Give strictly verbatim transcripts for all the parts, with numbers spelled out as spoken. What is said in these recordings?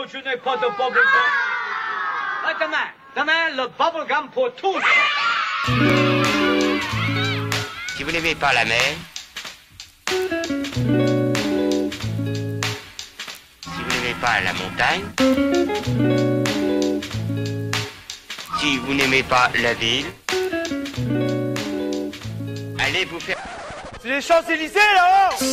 je n'ai pas de bubblegum. Ah, demain, demain, le bubblegum pour tous. Si vous n'aimez pas la mer, si vous n'aimez pas la montagne, si vous n'aimez pas la ville, allez vous faire... C'est les Champs-Élysées, là-haut.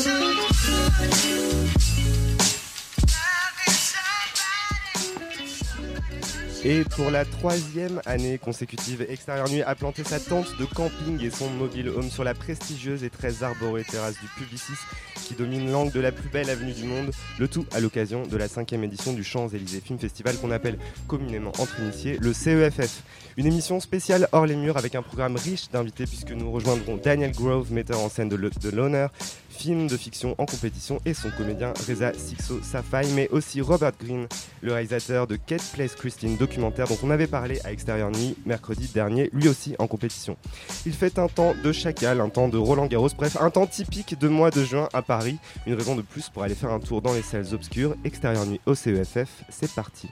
Et pour la troisième année consécutive, Extérieur Nuit a planté sa tente de camping et son mobile home sur la prestigieuse et très arborée terrasse du Publicis qui domine l'angle de la plus belle avenue du monde, le tout à l'occasion de la cinquième édition du Champs-Élysées Film Festival qu'on appelle communément entre initiés le C E F F. Une émission spéciale hors les murs avec un programme riche d'invités puisque nous rejoindrons Daniel Grove, metteur en scène de, le, de l'honneur, film de fiction en compétition, et son comédien Reza Sixo Safai, mais aussi Robert Greene, le réalisateur de Kate Plays Christine, documentaire dont on avait parlé à Extérieur Nuit mercredi dernier, lui aussi en compétition. Il fait un temps de Chacal, un temps de Roland Garros, bref, un temps typique de mois de juin à Paris. Une raison de plus pour aller faire un tour dans les salles obscures. Extérieur Nuit au C E F F, c'est parti.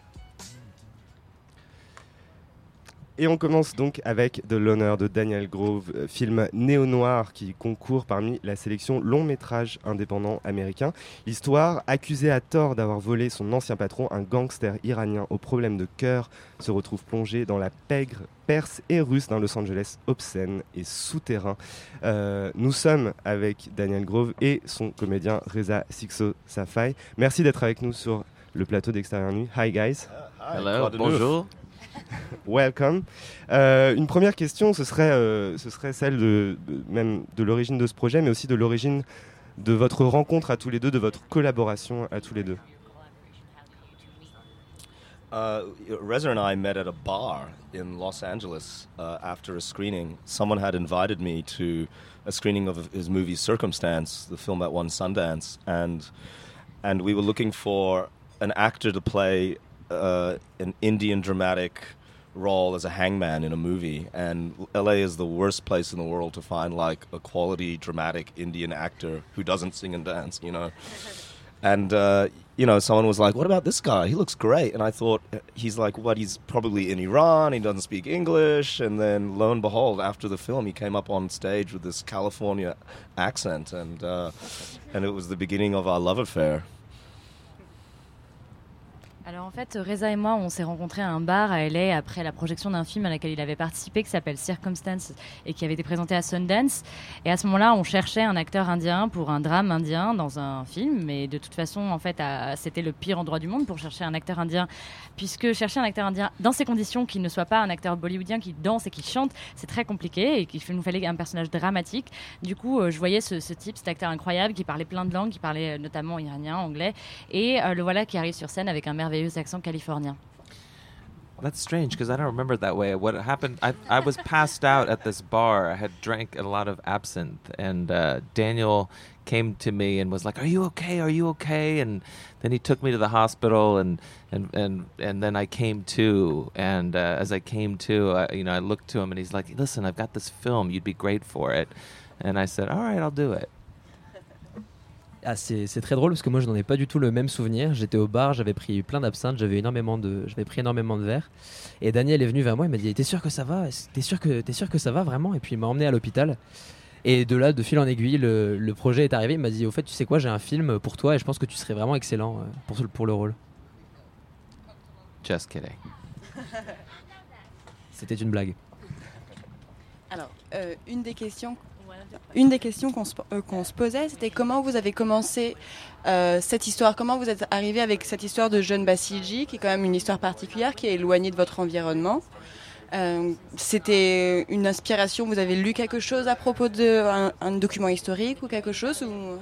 Et on commence donc avec de l'honneur de Daniel Grove, euh, film néo-noir qui concourt parmi la sélection long métrage indépendant américain. L'histoire, accusé à tort d'avoir volé son ancien patron, un gangster iranien aux problèmes de cœur, se retrouve plongé dans la pègre perse et russe d'un Los Angeles obscène et souterrain. Euh, nous sommes avec Daniel Grove et son comédien Reza Sixo Safai. Merci d'être avec nous sur le plateau d'Extérieur Nuit. Hi guys. Uh, hi. Hello, bonjour. Welcome. Euh, une première question, ce serait, euh, ce serait celle de, de, même de l'origine de ce projet, mais aussi de l'origine de votre rencontre à tous les deux, de votre collaboration à tous les deux. Uh, Reza and I met at a bar in Los Angeles uh, after a screening. Someone had invited me to a screening of his movie Circumstance, the film that won Sundance, and and we were looking for an actor to play Uh, an Indian dramatic role as a hangman in a movie, and L A is the worst place in the world to find like a quality dramatic Indian actor who doesn't sing and dance, you know. And uh, you know, someone was like, "What about this guy? He looks great." And I thought, he's like, what? He's probably in Iran. He doesn't speak English. And then, lo and behold, after the film, he came up on stage with this California accent, and uh, and it was the beginning of our love affair. Alors en fait, Reza et moi, on s'est rencontrés à un bar à L A après la projection d'un film à laquelle il avait participé qui s'appelle Circumstance et qui avait été présenté à Sundance. Et à ce moment-là, on cherchait un acteur indien pour un drame indien dans un film. Mais de toute façon, en fait, à, c'était le pire endroit du monde pour chercher un acteur indien, puisque chercher un acteur indien dans ces conditions, qui ne soit pas un acteur bollywoodien qui danse et qui chante, c'est très compliqué et qu'il nous fallait un personnage dramatique. Du coup, euh, je voyais ce, ce type, cet acteur incroyable qui parlait plein de langues, qui parlait notamment iranien, anglais, et euh, le voilà qui arrive sur scène avec un merveilleux accent californien. That's strange because I don't remember it that way. What happened, I, I was passed out at this bar. I had drank a lot of absinthe, and uh, Daniel came to me and was like, "Are you okay? Are you okay?" And then he took me to the hospital, and and and, and then I came to, and uh, as I came to, I, you know, I looked to him and he's like, "Listen, I've got this film. You'd be great for it." And I said, "All right, I'll do it." Ah, c'est, c'est très drôle parce que moi je n'en ai pas du tout le même souvenir. J'étais au bar, j'avais pris plein d'absinthe, j'avais énormément de, j'avais pris énormément de verres. Et Daniel est venu vers moi, il m'a dit: "T'es sûr que ça va? T'es sûr que t'es sûr que ça va vraiment?" Et puis il m'a emmené à l'hôpital. Et de là, de fil en aiguille, le, le projet est arrivé. Il m'a dit: "Au fait, tu sais quoi, j'ai un film pour toi et je pense que tu serais vraiment excellent pour pour le rôle." Just kidding. C'était une blague. Alors, euh, une des questions. Une des questions qu'on se, euh, qu'on se posait, c'était comment vous avez commencé euh, cette histoire, comment vous êtes arrivé avec cette histoire de jeune Bassilji, qui est quand même une histoire particulière, qui est éloignée de votre environnement. Euh, c'était une inspiration, vous avez lu quelque chose à propos d'un un document historique ou quelque chose ou...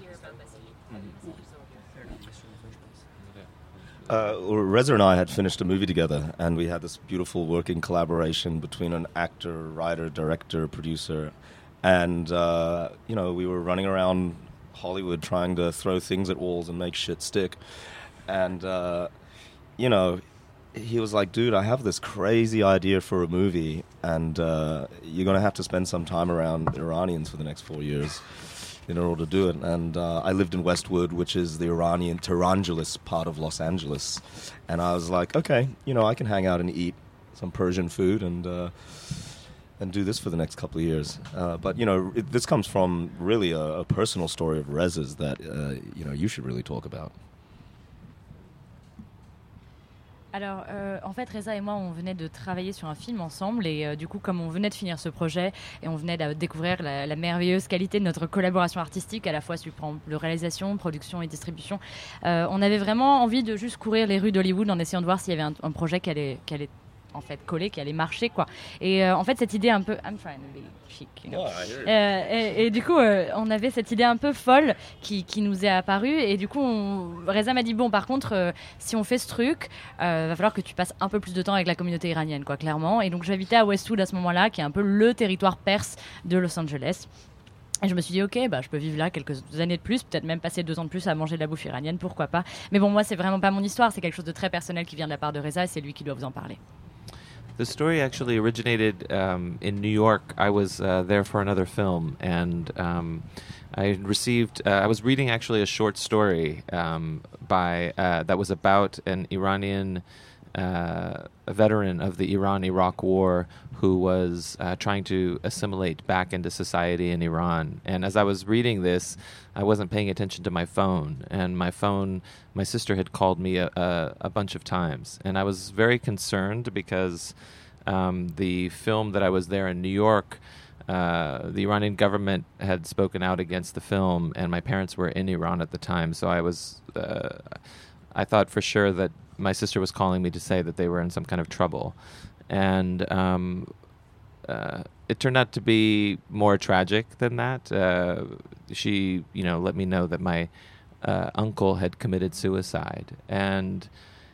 Uh, Reza and I had finished a movie together, and we had this beautiful working collaboration between an actor, writer, director, producer. And, uh, you know, we were running around Hollywood trying to throw things at walls and make shit stick. And, uh, you know, he was like, "Dude, I have this crazy idea for a movie, and uh, you're going to have to spend some time around Iranians for the next four years. in order to do it. And uh, I lived in Westwood, which is the Iranian Tehrangeles part of Los Angeles. And I was like, okay, you know, I can hang out and eat some Persian food and uh, and do this for the next couple of years. Uh, but, you know, it, this comes from really a, a personal story of Reza's that, uh, you know, you should really talk about. Alors, euh, en fait, Reza et moi, on venait de travailler sur un film ensemble et euh, du coup, comme on venait de finir ce projet et on venait de découvrir la, la merveilleuse qualité de notre collaboration artistique, à la fois sur le réalisation, production et distribution, euh, on avait vraiment envie de juste courir les rues d'Hollywood en essayant de voir s'il y avait un, un projet qui allait, qui allait en fait coller, qui allait marcher, quoi. Et euh, en fait, cette idée un peu, I'm trying to be chic, you know. Oh, euh, et, et du coup, euh, on avait cette idée un peu folle qui, qui nous est apparue. Et du coup, on... Reza m'a dit bon, par contre, euh, si on fait ce truc, euh, va falloir que tu passes un peu plus de temps avec la communauté iranienne, quoi, clairement. Et donc, j'habitais à Westwood à ce moment-là, qui est un peu le territoire perse de Los Angeles. Et je me suis dit, ok, bah, je peux vivre là quelques années de plus, peut-être même passer deux ans de plus à manger de la bouffe iranienne, pourquoi pas. Mais bon, moi, c'est vraiment pas mon histoire, c'est quelque chose de très personnel qui vient de la part de Reza et c'est lui qui doit vous en parler. The story actually originated um, in New York. I was uh, there for another film, and um, I received. Uh, I was reading actually a short story um, by uh, that was about an Iranian uh, a veteran of the Iran-Iraq War who was uh, trying to assimilate back into society in Iran. And as I was reading this, I wasn't paying attention to my phone, and my phone, my sister had called me a, a, a bunch of times, and I was very concerned because um, the film that I was there in New York, uh, the Iranian government had spoken out against the film, and my parents were in Iran at the time, so I was, uh, I thought for sure that my sister was calling me to say that they were in some kind of trouble, and um, uh, it turned out to be more tragic than that. Uh, she, you know, let me know that my uh, uncle had committed suicide, and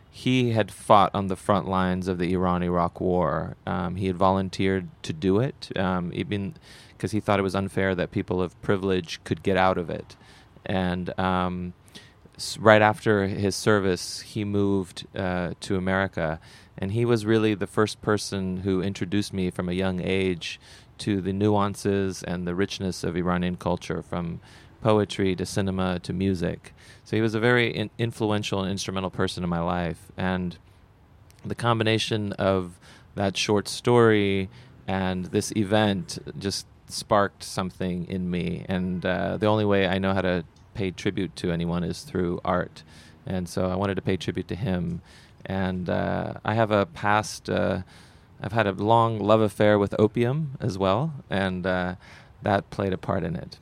he had fought on the front lines of the Iran-Iraq War. Um, he had volunteered to do it, um, even because he thought it was unfair that people of privilege could get out of it. And um, right after his service, he moved uh, to America, and he was really the first person who introduced me from a young age to the nuances and the richness of Iranian culture, from poetry to cinema to music. So he was a very in- influential and instrumental person in my life, and the combination of that short story and this event just sparked something in me, and uh, the only way I know how to pay tribute to anyone is through art, and so I wanted to pay tribute to him. And uh, I have a past, uh, I've had a long love affair with opium as well, and uh, that played a part in it.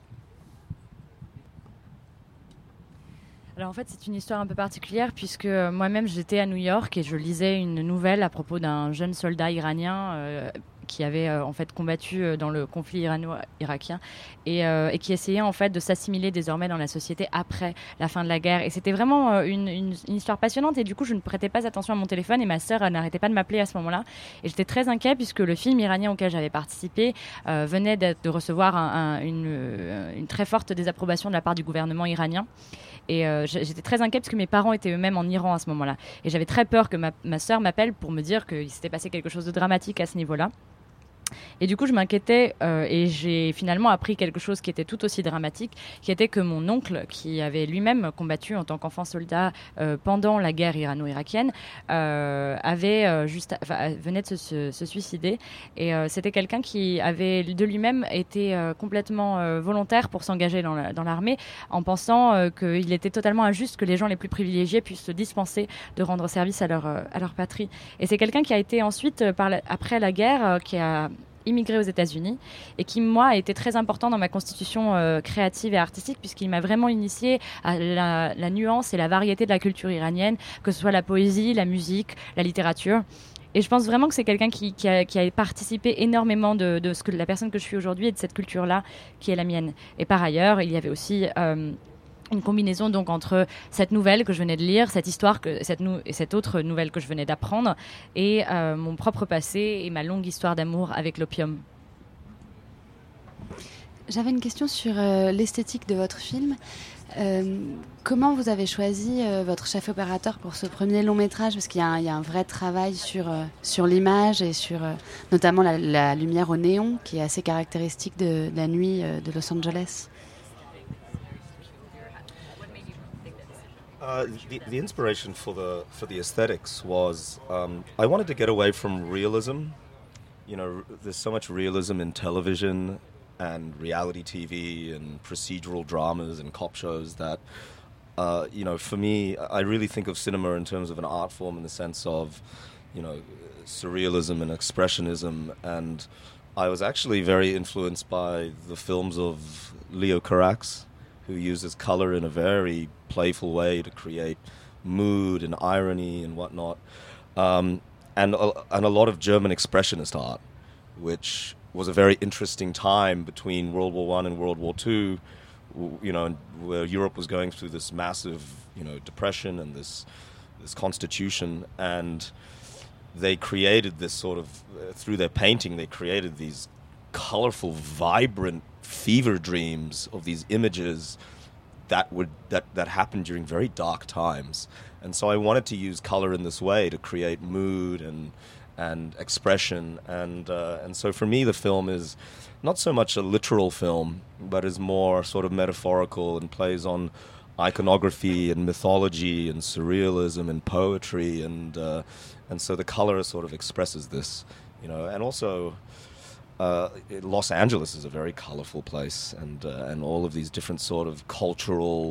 Alors en fait, c'est une histoire un peu particulière puisque moi-même j'étais à New York et je lisais une nouvelle à propos d'un jeune soldat iranien euh, qui avait euh, en fait combattu euh, dans le conflit irano-irakien et, euh, et qui essayait en fait de s'assimiler désormais dans la société après la fin de la guerre. Et c'était vraiment euh, une, une, une histoire passionnante et du coup je ne prêtais pas attention à mon téléphone et ma sœur n'arrêtait pas de m'appeler à ce moment-là. Et j'étais très inquiète puisque le film iranien auquel j'avais participé euh, venait de recevoir un, un, une, une très forte désapprobation de la part du gouvernement iranien. Et euh, j'étais très inquiète parce que mes parents étaient eux-mêmes en Iran à ce moment-là. Et j'avais très peur que ma, ma sœur m'appelle pour me dire qu'il s'était passé quelque chose de dramatique à ce niveau-là. Et du coup, je m'inquiétais euh, et j'ai finalement appris quelque chose qui était tout aussi dramatique, qui était que mon oncle, qui avait lui-même combattu en tant qu'enfant soldat euh, pendant la guerre irano-irakienne, euh, avait euh, juste, enfin, venait de se, se, se suicider. Et euh, c'était quelqu'un qui avait de lui-même été euh, complètement euh, volontaire pour s'engager dans, la, dans l'armée, en pensant euh, qu'il était totalement injuste que les gens les plus privilégiés puissent se dispenser de rendre service à leur, euh, à leur patrie. Et c'est quelqu'un qui a été ensuite, euh, par la, après la guerre, euh, qui a immigré aux États-Unis et qui, moi, a été très important dans ma constitution euh, créative et artistique puisqu'il m'a vraiment initié à la, la nuance et la variété de la culture iranienne, que ce soit la poésie, la musique, la littérature. Et je pense vraiment que c'est quelqu'un qui, qui, a, qui a participé énormément de, de ce que la personne que je suis aujourd'hui et de cette culture-là qui est la mienne. Et par ailleurs, il y avait aussi euh, une combinaison donc entre cette nouvelle que je venais de lire, cette histoire que cette nou- et cette autre nouvelle que je venais d'apprendre, et euh, mon propre passé et ma longue histoire d'amour avec l'opium. J'avais une question sur euh, l'esthétique de votre film. Euh, comment vous avez choisi euh, votre chef opérateur pour ce premier long métrage ? Parce qu'il y a un, il y a un vrai travail sur, euh, sur l'image et sur euh, notamment la, la lumière au néon qui est assez caractéristique de, de la nuit euh, de Los Angeles. Uh, the, the inspiration for the for the aesthetics was um, I wanted to get away from realism. You know, r- there's so much realism in television and reality T V and procedural dramas and cop shows that, uh, you know, for me, I really think of cinema in terms of an art form in the sense of, you know, surrealism and expressionism. And I was actually very influenced by the films of Leo Carax, who uses color in a very playful way to create mood and irony and whatnot. Um, and, a, and a lot of German expressionist art, which was a very interesting time between World War One and World War Two, w- you know, where Europe was going through this massive, you know, depression and this this constitution. And they created this sort of, uh, through their painting, they created these colorful, vibrant fever dreams of these images that would that that happened during very dark times. And so I wanted to use color in this way to create mood and and expression. And uh, and so for me, the film is not so much a literal film, but is more sort of metaphorical and plays on iconography and mythology and surrealism and poetry. And uh, and so the color sort of expresses this, you know. And also, Uh, Los Angeles is a very colorful place, and uh, and all of these different sort of cultural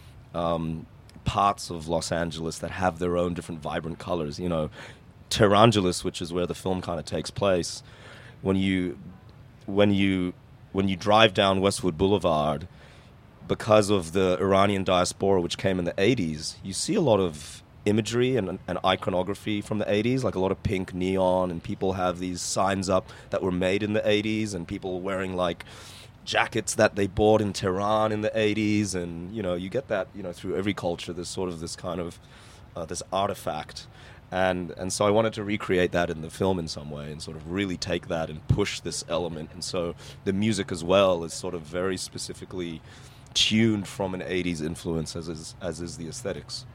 um, parts of Los Angeles that have their own different vibrant colors. You know, Tehrangeles, which is where the film kind of takes place, when you when you when you drive down Westwood Boulevard, because of the Iranian diaspora which came in the eighties, you see a lot of imagery and, and iconography from the eighties, like a lot of pink neon, and people have these signs up that were made in the eighties, and people wearing like jackets that they bought in Tehran in the eighties. And you know, you get that, you know, through every culture. There's sort of this kind of uh, this artifact, and and so I wanted to recreate that in the film in some way, and sort of really take that and push this element. And so the music as well is sort of very specifically tuned from an eighties influence, as is as is the aesthetics.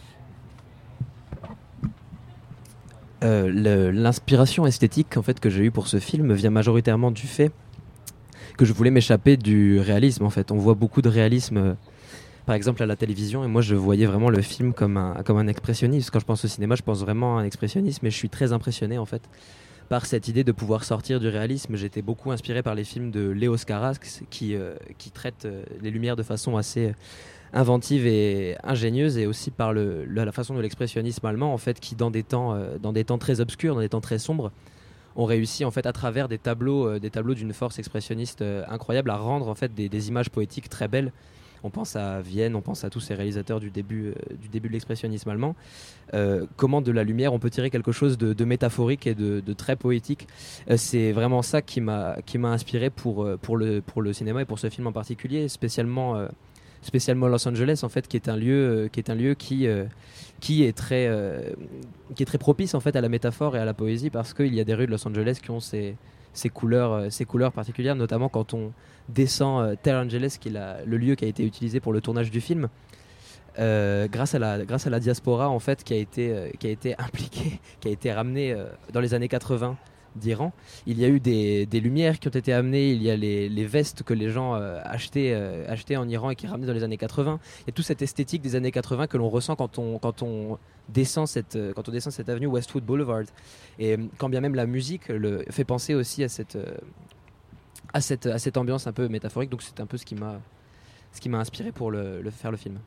Euh, le- l'inspiration esthétique en fait que j'ai eue pour ce film vient majoritairement du fait que je voulais m'échapper du réalisme. En fait, on voit beaucoup de réalisme, euh, par exemple à la télévision, et moi je voyais vraiment le film comme un comme un expressionniste. Quand je pense au cinéma, je pense vraiment à un expressionnisme, et je suis très impressionné en fait par cette idée de pouvoir sortir du réalisme. J'étais beaucoup inspiré par les films de Léos Carax qui euh, qui traitent euh, les lumières de façon assez euh, inventive et ingénieuse, et aussi par le, le- la façon de l'expressionnisme allemand en fait, qui dans des temps euh, dans des temps très obscurs, dans des temps très sombres, ont réussi en fait à travers des tableaux euh, des tableaux d'une force expressionniste euh, incroyable à rendre en fait des, des images poétiques très belles. On pense à Vienne, on pense à tous ces réalisateurs du début euh, du début de l'expressionnisme allemand. Euh, comment de la lumière on peut tirer quelque chose de, de métaphorique et de, de très poétique. Euh, c'est vraiment ça qui m'a qui m'a inspiré pour euh, pour le pour le cinéma et pour ce film en particulier, spécialement euh, spécialement Los Angeles en fait, qui est un lieu euh, qui est un lieu qui euh, qui est très euh, qui est très propice en fait à la métaphore et à la poésie, parce qu'il y a des rues de Los Angeles qui ont ces ces couleurs euh, ces couleurs particulières, notamment quand on descend euh, Tehrangeles, qui est la- le lieu qui a été utilisé pour le tournage du film. Euh, grâce à la grâce à la diaspora en fait, qui a été euh, qui a été impliquée, qui a été ramenée euh, dans les années quatre-vingts d'Iran. Il y a eu des, des lumières qui ont été amenées, il y a les, les vestes que les gens euh, achetaient, euh, achetaient en Iran et qui ramenaient dans les années quatre-vingts. Il y a toute cette esthétique des années quatre-vingts que l'on ressent quand on, quand on descend cette, euh, quand on descend cette avenue Westwood Boulevard. Et euh, quand bien même la musique le, fait penser aussi à cette, euh, à, cette, à cette ambiance un peu métaphorique. Donc c'est un peu ce qui m'a, ce qui m'a inspiré pour le, le faire le film.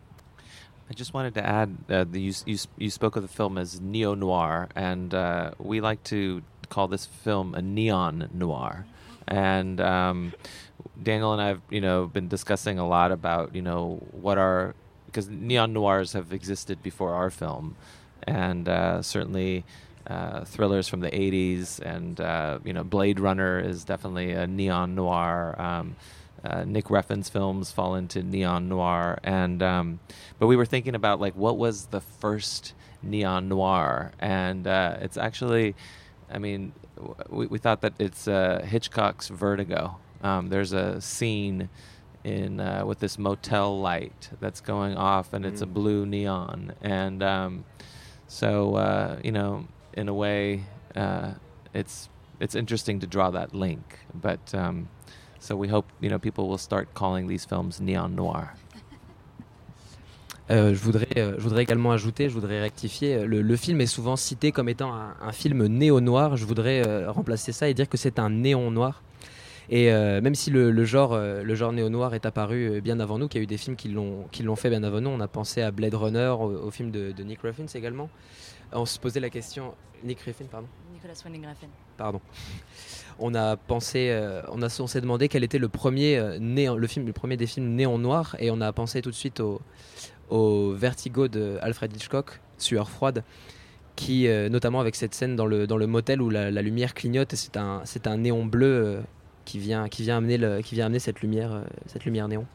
I just wanted to add uh, the, you, you, you spoke of the film as neo-noir, and uh, we like to call this film a neon noir. And um, Daniel and I have, you know, been discussing a lot about, you know, what are, because neon noirs have existed before our film, and uh, certainly uh, thrillers from the eighties, and uh, you know, Blade Runner is definitely a neon noir. Um, Uh, Nick Refn's films fall into neon noir, and um, but we were thinking about like what was the first neon noir, and uh, it's actually, I mean, w- we, we thought that it's uh, Hitchcock's Vertigo. Um, there's a scene in uh, with this motel light that's going off, and it's a blue neon, and um, so uh, you know, in a way, uh, it's it's interesting to draw that link, but. Um, So we hope, you know, people will start calling these films neon noir. Euh, je, voudrais, euh, je voudrais également ajouter, je voudrais rectifier, le, le film est souvent cité comme étant un, un film néo-noir. Je voudrais euh, remplacer ça et dire que c'est un néon noir. Et euh, même si le, le genre, euh, le genre néo-noir est apparu bien avant nous, qu'il y a eu des films qui l'ont, qui l'ont fait bien avant nous, on a pensé à Blade Runner, au, au film de, de Nick Ruffin également. On se posait la question... Nick Ruffin, pardon Nicolas Winding Refn. Pardon. On a pensé, euh, on, a, on s'est demandé quel était le premier, euh, néon, le, film, le premier des films néon noir, et on a pensé tout de suite au, au Vertigo de Alfred Hitchcock, Sueur froide, qui, euh, notamment avec cette scène dans le, dans le motel où la, la lumière clignote, et c'est un, c'est un néon bleu euh, qui, vient, qui, vient amener le, qui vient amener cette lumière, euh, cette lumière néon.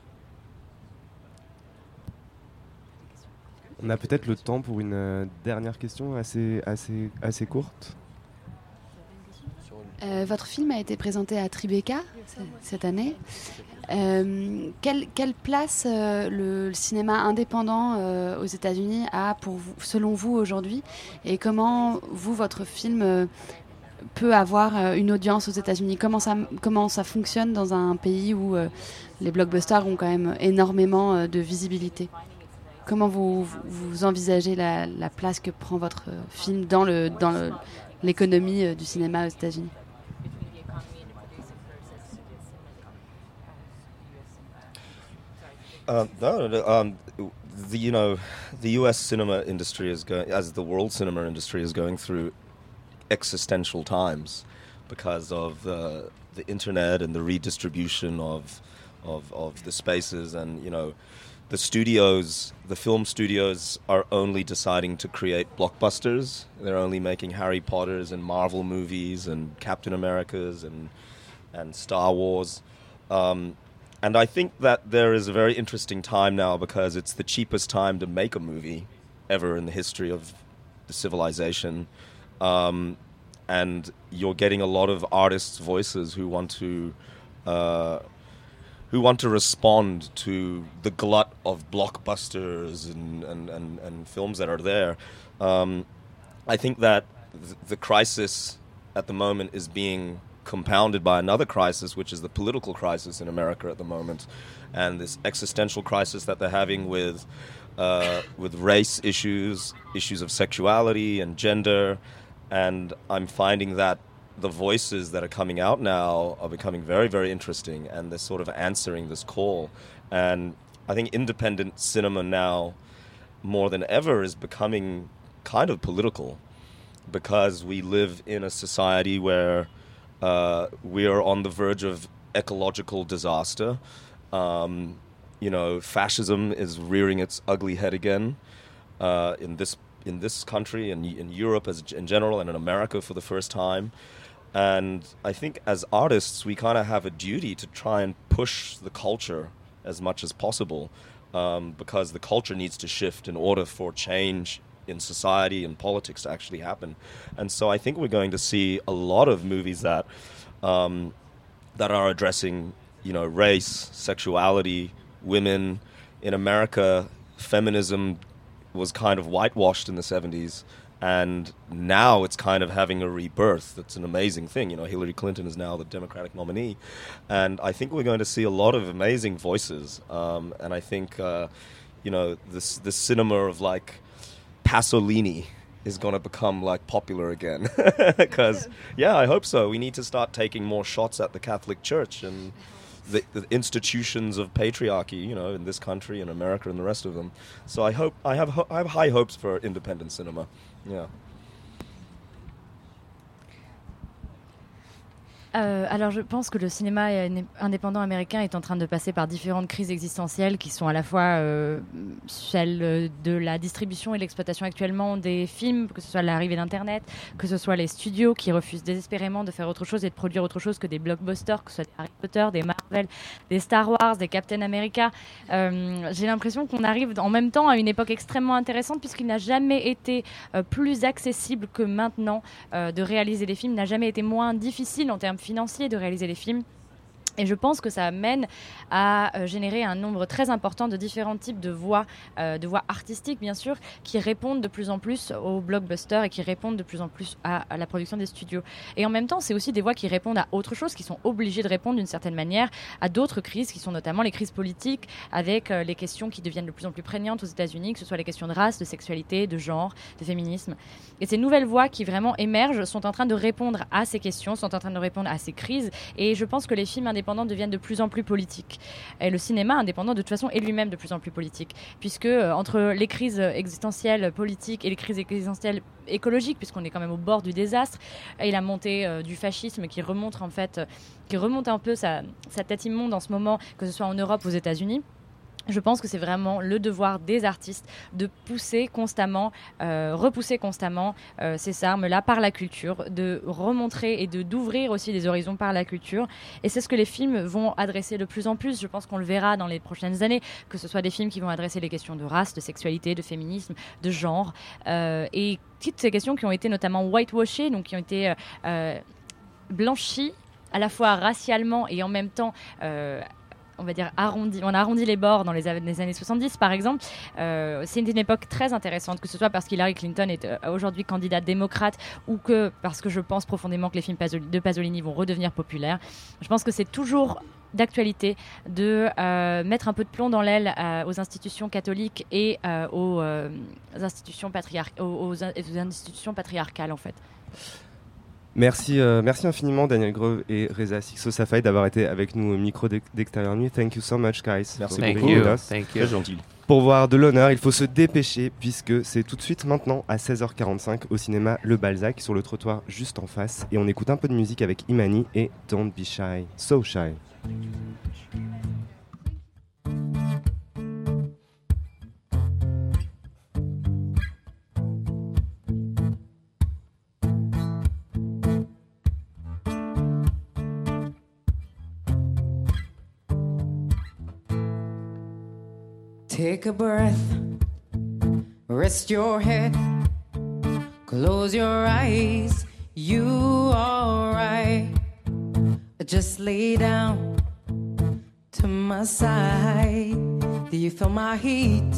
On a peut-être le temps pour une euh, dernière question assez, assez, assez courte. Euh, votre film a été présenté à Tribeca c- cette année. Euh, quelle, quelle place euh, le, le cinéma indépendant euh, aux États-Unis a pour vous, selon vous aujourd'hui, et comment vous, votre film euh, peut avoir euh, une audience aux États-Unis? Comment ça, comment ça fonctionne dans un pays où euh, les blockbusters ont quand même énormément euh, de visibilité? Comment vous, vous envisagez la, la place que prend votre film dans, le, dans le, l'économie euh, du cinéma aux États-Unis? Uh, no, no, um, the you know, the U S cinema industry is going, as the world cinema industry is going through existential times because of uh, the internet and the redistribution of, of of the spaces, and you know, the studios, the film studios are only deciding to create blockbusters. They're only making Harry Potters and Marvel movies and Captain Americas and and Star Wars. Um, And I think that there is a very interesting time now because it's the cheapest time to make a movie ever in the history of the civilization. Um, and you're getting a lot of artists' voices who want to uh, who want to respond to the glut of blockbusters and, and, and, and films that are there. Um, I think that th- the crisis at the moment is being compounded by another crisis, which is the political crisis in America at the moment, and this existential crisis that they're having with uh, with race issues, issues of sexuality and gender, and I'm finding that the voices that are coming out now are becoming very, very interesting, and they're sort of answering this call. And I think independent cinema now, more than ever, is becoming kind of political, because we live in a society where Uh, we are on the verge of ecological disaster. Um, you know, fascism is rearing its ugly head again uh, in this in this country and in, in Europe as in general, and in America for the first time. And I think as artists, we kind of have a duty to try and push the culture as much as possible, um, because the culture needs to shift in order for change in society and politics to actually happen. And so I think we're going to see a lot of movies that um, that are addressing, you know, race, sexuality, women. In America, feminism was kind of whitewashed in the seventies, and now it's kind of having a rebirth. That's an amazing thing. You know, Hillary Clinton is now the Democratic nominee, and I think we're going to see a lot of amazing voices. Um, and I think, uh, you know, this this cinema of like Pasolini is going to become like popular again, because yeah, I hope so. We need to start taking more shots at the Catholic Church and the, the institutions of patriarchy, you know, in this country and America and the rest of them. So I hope I have ho- I have high hopes for independent cinema. Yeah. Euh, alors je pense que le cinéma indépendant américain est en train de passer par différentes crises existentielles qui sont à la fois euh, celles de la distribution et de l'exploitation actuellement des films, que ce soit l'arrivée d'Internet, que ce soit les studios qui refusent désespérément de faire autre chose et de produire autre chose que des blockbusters, que ce soit des Harry Potter, des Marvel, des Star Wars, des Captain America. Euh, j'ai l'impression qu'on arrive en même temps à une époque extrêmement intéressante, puisqu'il n'a jamais été euh, plus accessible que maintenant euh, de réaliser des films, n'a jamais été moins difficile en termes financiers de réaliser des films. Et je pense que ça mène à euh, générer un nombre très important de différents types de voix, euh, de voix artistiques bien sûr, qui répondent de plus en plus aux blockbusters et qui répondent de plus en plus à, à la production des studios. Et en même temps, c'est aussi des voix qui répondent à autre chose, qui sont obligées de répondre d'une certaine manière à d'autres crises, qui sont notamment les crises politiques, avec euh, les questions qui deviennent de plus en plus prégnantes aux États-Unis, que ce soit les questions de race, de sexualité, de genre, de féminisme. Et ces nouvelles voix qui vraiment émergent sont en train de répondre à ces questions, sont en train de répondre à ces crises. Et je pense que les films indépendants deviennent de plus en plus politiques. Et le cinéma indépendant, de toute façon, est lui-même de plus en plus politique, puisque euh, entre les crises existentielles politiques et les crises existentielles écologiques, puisqu'on est quand même au bord du désastre, et la montée euh, du fascisme qui remonte en fait, euh, qui remonte un peu sa, sa tête immonde en ce moment, que ce soit en Europe ou aux États-Unis. Je pense que c'est vraiment le devoir des artistes de pousser constamment, euh, repousser constamment euh, ces armes-là par la culture, de remontrer et de d'ouvrir aussi des horizons par la culture. Et c'est ce que les films vont adresser de plus en plus. Je pense qu'on le verra dans les prochaines années, que ce soit des films qui vont adresser les questions de race, de sexualité, de féminisme, de genre, euh, et toutes ces questions qui ont été notamment whitewashées, donc qui ont été euh, blanchies à la fois racialement et en même temps euh, on va dire arrondi, on a arrondi les bords dans les, les années soixante-dix par exemple. Euh, c'est une, une époque très intéressante, que ce soit parce qu'Hillary Clinton est euh, aujourd'hui candidate démocrate ou que parce que je pense profondément que les films Pasol- de Pasolini vont redevenir populaires. Je pense que c'est toujours d'actualité de euh, mettre un peu de plomb dans l'aile euh, aux institutions catholiques et euh, aux, euh, institutions patriarc- aux, aux, aux institutions patriarcales en fait. Merci, euh, merci infiniment Daniel Grove et Reza Sixo Safaï d'avoir été avec nous au micro d'Extérieur Nuit. Thank you so much guys. Merci Thank beaucoup. you. Us. Thank you. Très gentil. Pour voir de l'honneur, il faut se dépêcher puisque c'est tout de suite maintenant à seize heures quarante-cinq au cinéma Le Balzac sur le trottoir juste en face, et on écoute un peu de musique avec Imani et Don't Be Shy, So Shy. Take a breath, rest your head, close your eyes, you alright. Just lay down to my side. Do you feel my heat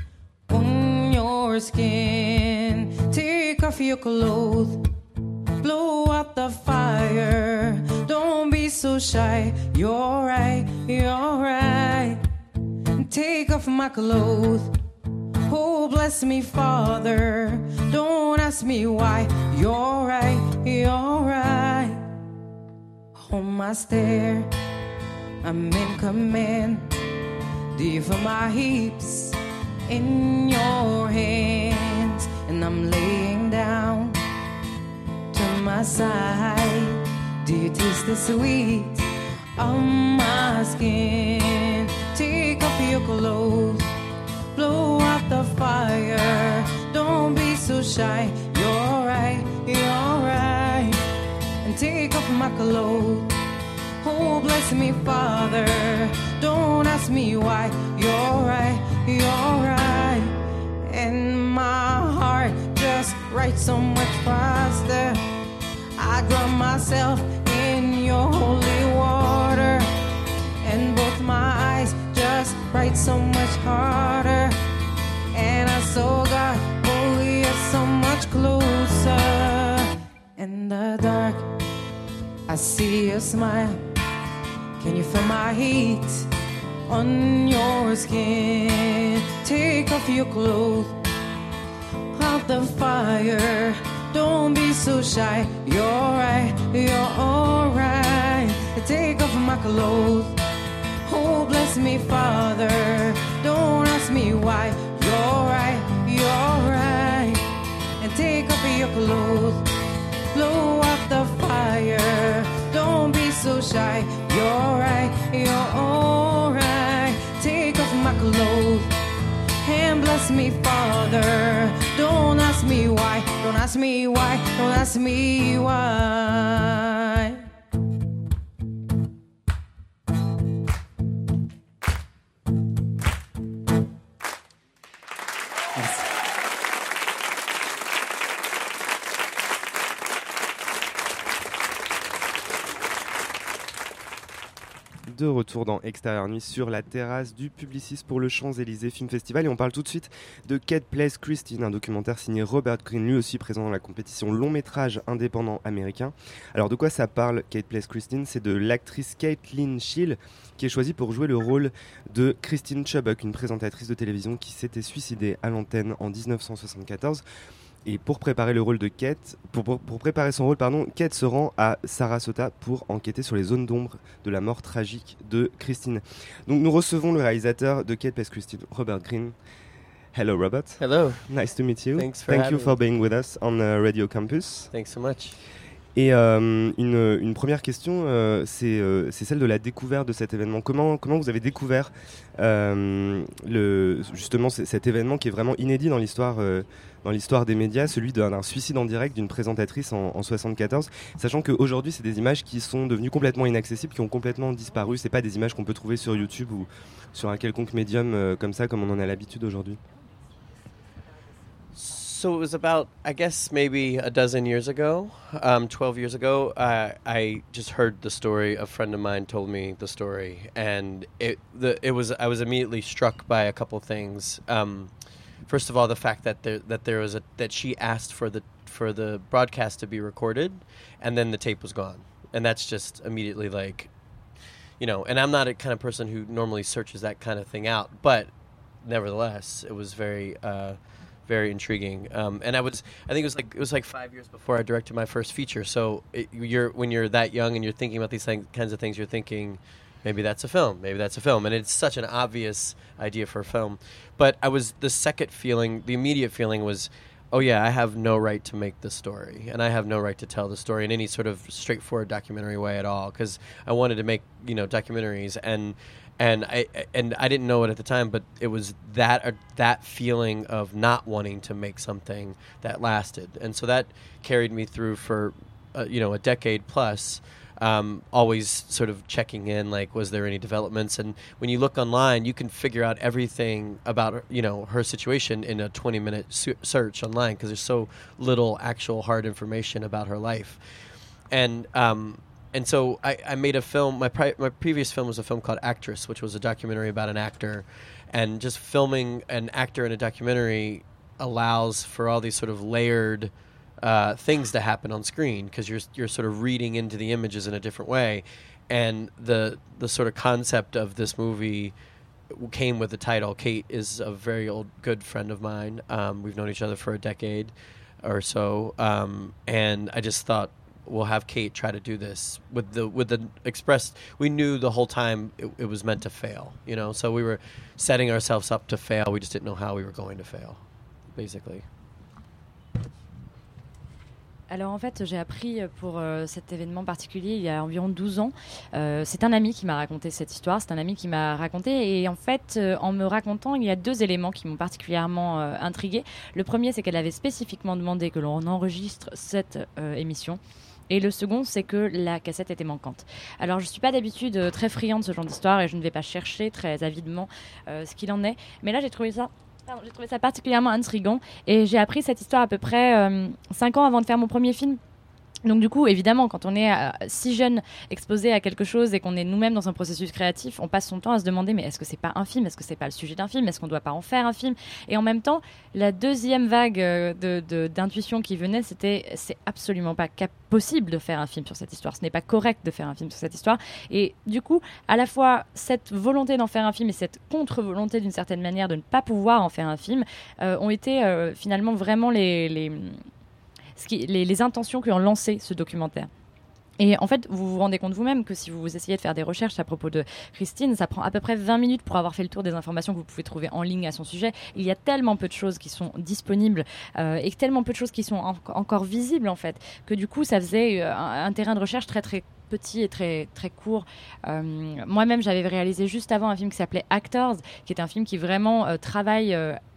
on your skin? Take off your clothes, blow out the fire. Don't be so shy, you're right, you're right. Take off my clothes, oh bless me Father. Don't ask me why, you're right, you're right. Hold my stare, I'm in command. Do you feel my hips in your hands? And I'm laying down to my side. Do you taste the sweet on my skin? Take off your clothes, blow out the fire. Don't be so shy, you're right, you're right. And take off my clothes, oh bless me Father. Don't ask me why, you're right, you're right. And my heart just writes so much faster. I drown myself in your holy water, and both my eyes just write so much harder. And I saw God, oh you're so much closer. In the dark, I see your smile. Can you feel my heat on your skin? Take off your clothes, out the fire. Don't be so shy, you're right, you're alright. Take off my clothes, oh bless me Father. Don't ask me why, you're right, you're right. And take off your clothes, blow out the fire. Don't be so shy, you're right, you're alright. Take off my clothes and bless me Father. Don't ask me why, don't ask me why, don't ask me why. de retour dans Extérieur Nuit sur la terrasse du Publicis pour le Champs-Élysées Film Festival et on parle tout de suite de Kate Plays Christine, un documentaire signé Robert Greene, lui aussi présent dans la compétition long métrage indépendant américain. Alors de quoi ça parle Kate Plays Christine? C'est de l'actrice Caitlin Schill qui est choisie pour jouer le rôle de Christine Chubbuck, une présentatrice de télévision qui s'était suicidée à l'antenne en dix-neuf cent soixante-quatorze. Et pour préparer le rôle de Kate, pour, pour, pour préparer son rôle, pardon, Kate se rend à Sarasota pour enquêter sur les zones d'ombre de la mort tragique de Christine. Donc nous recevons le réalisateur de Kate Plays Christine, Robert Greene. Hello, Robert. Hello. Nice to meet you. Thanks for Thank having you for me. being with us on uh, Radio Campus. Thanks so much. Et euh, une, une première question, euh, c'est, euh, c'est celle de la découverte de cet événement. Comment, comment vous avez découvert euh, le, justement c- cet événement qui est vraiment inédit dans l'histoire, euh, dans l'histoire des médias, celui d'un, d'un suicide en direct d'une présentatrice en, en soixante-quatorze, sachant qu'aujourd'hui c'est des images qui sont devenues complètement inaccessibles, qui ont complètement disparu. C'est pas des images qu'on peut trouver sur YouTube ou sur un quelconque médium euh, comme ça, comme on en a l'habitude aujourd'hui. So it was about, I guess, maybe a dozen years ago, um, twelve years ago. Uh, I just heard the story. A friend of mine told me the story, and it the it was I was immediately struck by a couple things. Um, first of all, the fact that there that there was a that she asked for the for the broadcast to be recorded, and then the tape was gone, and that's just immediately like, you know. And I'm not a kind of person who normally searches that kind of thing out, but nevertheless, it was very. Uh, Very intriguing, um, and I was. I think it was like it was like five years before I directed my first feature. So it, you're when you're that young and you're thinking about these thing, kinds of things, you're thinking, maybe that's a film, maybe that's a film, and it's such an obvious idea for a film. But I was the second feeling, the immediate feeling was, oh yeah, I have no right to make this story, and I have no right to tell the story in any sort of straightforward documentary way at all, because I wanted to make you know documentaries and. And I and I didn't know it at the time, but it was that uh, that feeling of not wanting to make something that lasted, and so that carried me through for uh, you know a decade plus. Um, always sort of checking in, like, was there any developments? And when you look online, you can figure out everything about you know her situation in a twenty-minute su- search online because there's so little actual hard information about her life, and. Um, And so I, I made a film. My pri- my previous film was a film called Actress, which was a documentary about an actor. And just filming an actor in a documentary allows for all these sort of layered uh, things to happen on screen because you're you're sort of reading into the images in a different way. And the the sort of concept of this movie came with the title. Kate is a very old good friend of mine. Um, we've known each other for a decade or so, um, and I just thought. We'll have Kate try to do this with the with the express. We knew the whole time it, it was meant to fail, you know. So we were setting ourselves up to fail. We just didn't know how we were going to fail, basically. Alors en fait, j'ai appris pour euh, cet événement particulier il y a environ douze ans. Euh, c'est un ami qui m'a raconté cette histoire, c'est un ami qui m'a raconté et en fait, euh, en me racontant, il y a deux éléments qui m'ont particulièrement euh, intriguée. Le premier, c'est qu'elle avait spécifiquement demandé que l'on enregistre cette euh, émission. Et le second, c'est que la cassette était manquante. Alors, je ne suis pas d'habitude euh, très friande de ce genre d'histoire et je ne vais pas chercher très avidement euh, ce qu'il en est. Mais là, j'ai trouvé ça... Pardon, j'ai trouvé ça particulièrement intriguant et j'ai appris cette histoire à peu près euh, cinq ans avant de faire mon premier film. Donc du coup, évidemment, quand on est euh, si jeune, exposé à quelque chose et qu'on est nous-mêmes dans un processus créatif, on passe son temps à se demander mais est-ce que c'est pas un film ? Est-ce que c'est pas le sujet d'un film ? Est-ce qu'on doit pas en faire un film ? Et en même temps, la deuxième vague euh, de, de, d'intuition qui venait, c'était c'est absolument pas cap- possible de faire un film sur cette histoire. Ce n'est pas correct de faire un film sur cette histoire. Et du coup, à la fois cette volonté d'en faire un film et cette contre-volonté d'une certaine manière de ne pas pouvoir en faire un film euh, ont été euh, finalement vraiment les... les Ce qui, les, les intentions qui ont lancé ce documentaire. Et en fait, vous vous rendez compte vous-même que si vous essayez de faire des recherches à propos de Christine, ça prend à peu près vingt minutes pour avoir fait le tour des informations que vous pouvez trouver en ligne à son sujet. Il y a tellement peu de choses qui sont disponibles euh, et tellement peu de choses qui sont en- encore visibles, en fait, que du coup, ça faisait euh, un, un terrain de recherche très, très petit et très, très court. Euh, moi-même, j'avais réalisé juste avant un film qui s'appelait Actors, qui est un film qui vraiment euh, travaille... Euh,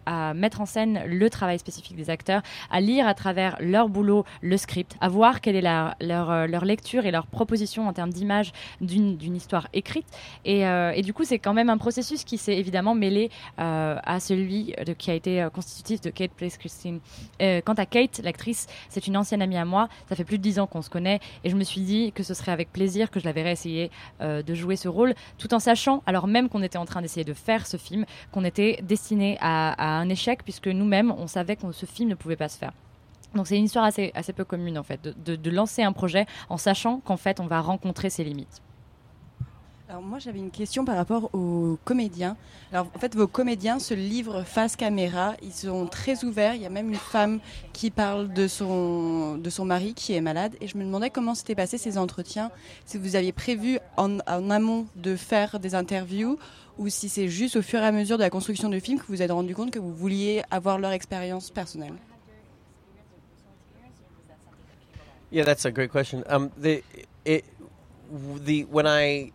à mettre en scène le travail spécifique des acteurs, à lire à travers leur boulot le script, à voir quelle est la, leur, euh, leur lecture et leur proposition en termes d'image d'une, d'une histoire écrite. Et, euh, et du coup, c'est quand même un processus qui s'est évidemment mêlé euh, à celui de, qui a été euh, constitutif de Kate Plays Christine. Euh, quant à Kate, l'actrice, c'est une ancienne amie à moi. Ça fait plus de dix ans qu'on se connaît et je me suis dit que ce serait avec plaisir que je la verrais essayer euh, de jouer ce rôle, tout en sachant, alors même qu'on était en train d'essayer de faire ce film, qu'on était destiné à, à un échec puisque nous-mêmes, on savait que ce film ne pouvait pas se faire. Donc c'est une histoire assez, assez peu commune en fait, de, de, de lancer un projet en sachant qu'en fait on va rencontrer ses limites. Alors moi j'avais une question par rapport aux comédiens. Alors en fait vos comédiens se livrent face caméra, ils sont très ouverts, il y a même une femme qui parle de son, de son mari qui est malade et je me demandais comment s'étaient passés ces entretiens, si vous aviez prévu en, en amont de faire des interviews ou si c'est juste au fur et à mesure de la construction du film que vous vous êtes rendu compte que vous vouliez avoir leur expérience personnelle. Yeah, that's a great question. Um, the it the when I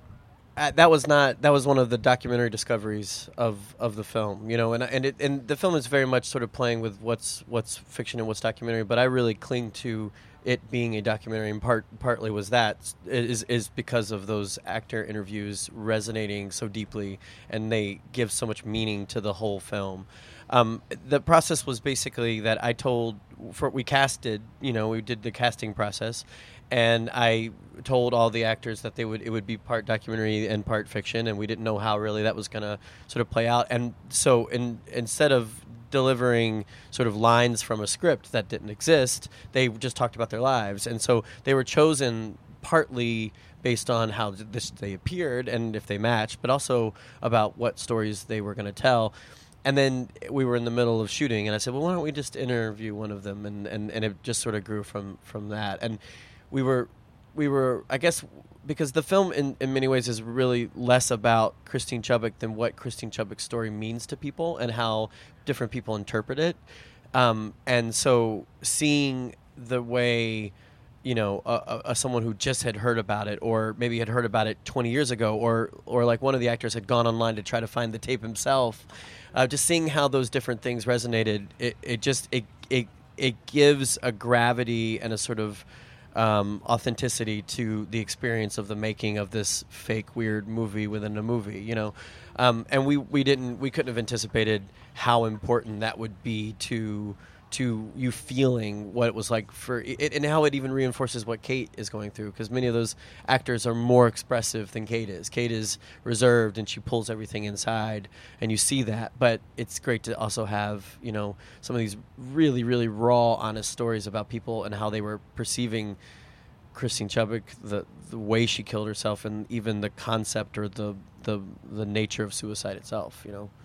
uh, that was not that was one of the documentary discoveries of, of the film, you know, and and it, and the film is very much sort of playing with what's what's fiction and what's documentary, but I really cling to it being a documentary, and part partly was that is is because of those actor interviews resonating so deeply, and they give so much meaning to the whole film. Um, the process was basically that I told, for, we casted, you know, we did the casting process, and I told all the actors that they would it would be part documentary and part fiction, and we didn't know how really that was going to sort of play out. And so in, instead of delivering sort of lines from a script that didn't exist, they just talked about their lives. And so they were chosen partly based on how this, they appeared and if they matched, but also about what stories they were going to tell. And then we were in the middle of shooting, and I said, well, why don't we just interview one of them? And, and, and it just sort of grew from, from that. And we were, we were, I guess, because the film in, in many ways is really less about Christine Chubbuck than what Christine Chubbuck's story means to people and how different people interpret it. Um, and so seeing the way, you know, uh, uh, someone who just had heard about it, or maybe had heard about it twenty years ago, or or like one of the actors had gone online to try to find the tape himself, uh, just seeing how those different things resonated, it, it just it it it gives a gravity and a sort of um, authenticity to the experience of the making of this fake weird movie within a movie, you know, um, and we we didn't we couldn't have anticipated how important that would be to. to you feeling what it was like for it, and how it even reinforces what Kate is going through, because many of those actors are more expressive than Kate is. Kate is reserved and she pulls everything inside, and you see that, but it's great to also have, you know, some of these really, really raw, honest stories about people and how they were perceiving Christine Chubbuck, the the way she killed herself, and even the concept or the the, the nature of suicide itself, you know.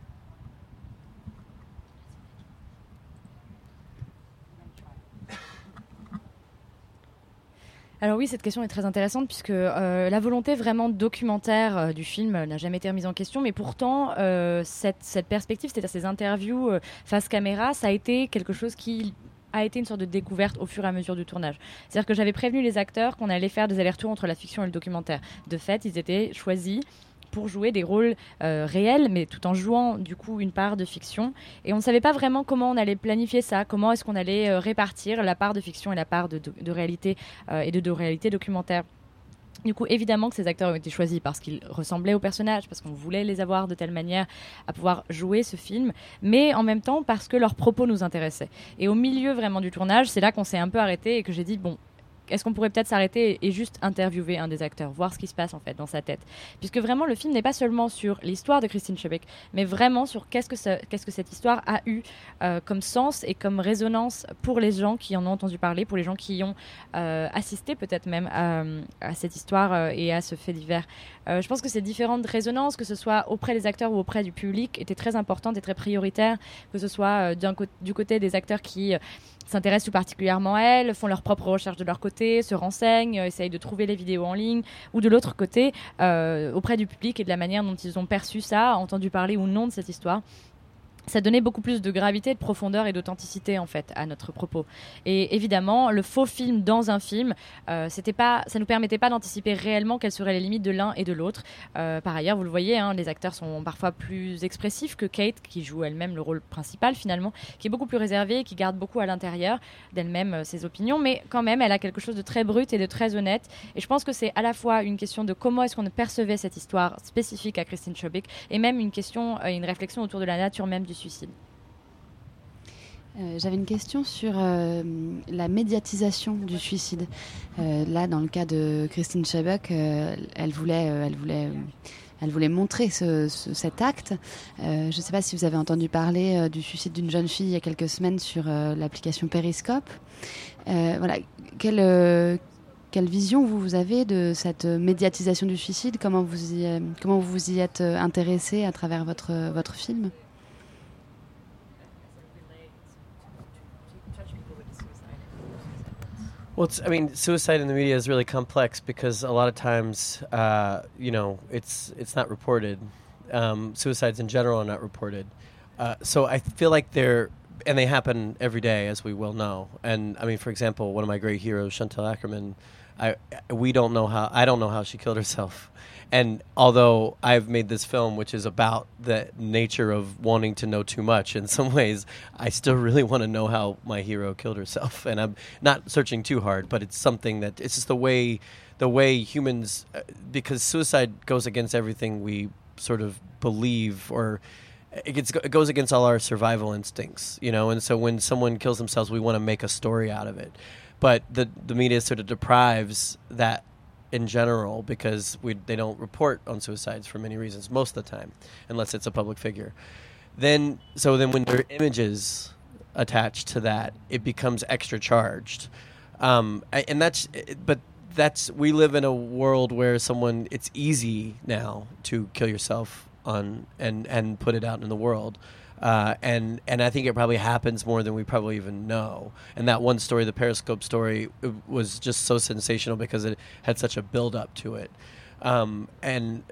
Alors oui, cette question est très intéressante puisque euh, la volonté vraiment documentaire euh, du film n'a jamais été remise en question, mais pourtant euh, cette, cette perspective, c'est-à-dire ces interviews euh, face caméra, ça a été quelque chose qui a été une sorte de découverte au fur et à mesure du tournage. C'est-à-dire que j'avais prévenu les acteurs qu'on allait faire des allers-retours entre la fiction et le documentaire. De fait, ils étaient choisis pour jouer des rôles euh, réels, mais tout en jouant du coup une part de fiction. Et on ne savait pas vraiment comment on allait planifier ça, comment est-ce qu'on allait euh, répartir la part de fiction et la part de, de, de réalité euh, et de, de réalité documentaire. Du coup, évidemment que ces acteurs ont été choisis parce qu'ils ressemblaient aux personnages, parce qu'on voulait les avoir de telle manière à pouvoir jouer ce film, mais en même temps parce que leurs propos nous intéressaient. Et au milieu vraiment du tournage, c'est là qu'on s'est un peu arrêté et que j'ai dit, bon, est-ce qu'on pourrait peut-être s'arrêter et juste interviewer un des acteurs, voir ce qui se passe en fait dans sa tête, puisque vraiment le film n'est pas seulement sur l'histoire de Christine Chubbuck, mais vraiment sur qu'est-ce que, ça, qu'est-ce que cette histoire a eu euh, comme sens et comme résonance pour les gens qui en ont entendu parler, pour les gens qui y ont euh, assisté peut-être même à, à cette histoire euh, et à ce fait divers. Euh, je pense que ces différentes résonances, que ce soit auprès des acteurs ou auprès du public, étaient très importantes et très prioritaires, que ce soit euh, d'un co- du côté des acteurs qui euh, s'intéressent tout particulièrement à elles, font leurs propres recherches de leur côté, se renseignent, euh, essayent de trouver les vidéos en ligne, ou de l'autre côté, euh, auprès du public et de la manière dont ils ont perçu ça, entendu parler ou non de cette histoire. ça donnait beaucoup plus de gravité, de profondeur et d'authenticité en fait à notre propos. Et évidemment, le faux film dans un film, euh, c'était pas, ça nous permettait pas d'anticiper réellement quelles seraient les limites de l'un et de l'autre. Euh, par ailleurs, vous le voyez, hein, les acteurs sont parfois plus expressifs que Kate, qui joue elle-même le rôle principal finalement, qui est beaucoup plus réservée, qui garde beaucoup à l'intérieur d'elle-même euh, ses opinions, mais quand même, elle a quelque chose de très brut et de très honnête. Et je pense que c'est à la fois une question de comment est-ce qu'on percevait cette histoire spécifique à Christine Chobik, et même une question, euh, une réflexion autour de la nature même du suicide. Euh, J'avais une question sur euh, la médiatisation du suicide. Euh, là, dans le cas de Christine Chobik, euh, elle voulait, euh, elle voulait, euh, elle voulait montrer ce, ce, cet acte. Euh, je ne sais pas si vous avez entendu parler euh, du suicide d'une jeune fille il y a quelques semaines sur euh, l'application Periscope. Euh, voilà, quelle, euh, quelle vision vous, vous avez de cette médiatisation du suicide ? Comment vous y, euh, comment vous vous y êtes intéressé à travers votre, votre film ? Well, it's, I mean, suicide in the media is really complex because a lot of times, uh, you know, it's it's not reported. Um, suicides in general are not reported. Uh, so I feel like they're, and they happen every day, as we well know. And I mean, for example, one of my great heroes, Chantal Ackerman, I we don't know how I don't know how she killed herself. And although I've made this film, which is about the nature of wanting to know too much, in some ways, I still really want to know how my hero killed herself. And I'm not searching too hard, but it's something that it's just the way, the way humans, uh, because suicide goes against everything we sort of believe, or it, gets, it goes against all our survival instincts, you know. And so when someone kills themselves, we want to make a story out of it. But the the media sort of deprives that in general, because we they don't report on suicides for many reasons most of the time, unless it's a public figure. Then, so then when there are images attached to that, it becomes extra charged. Um, and that's, but that's, we live in a world where someone, it's easy now to kill yourself on and, and put it out in the world. Uh, and and I think it probably happens more than we probably even know. And that one story, the Periscope story, was just so sensational because it had such a build-up to it. Um, and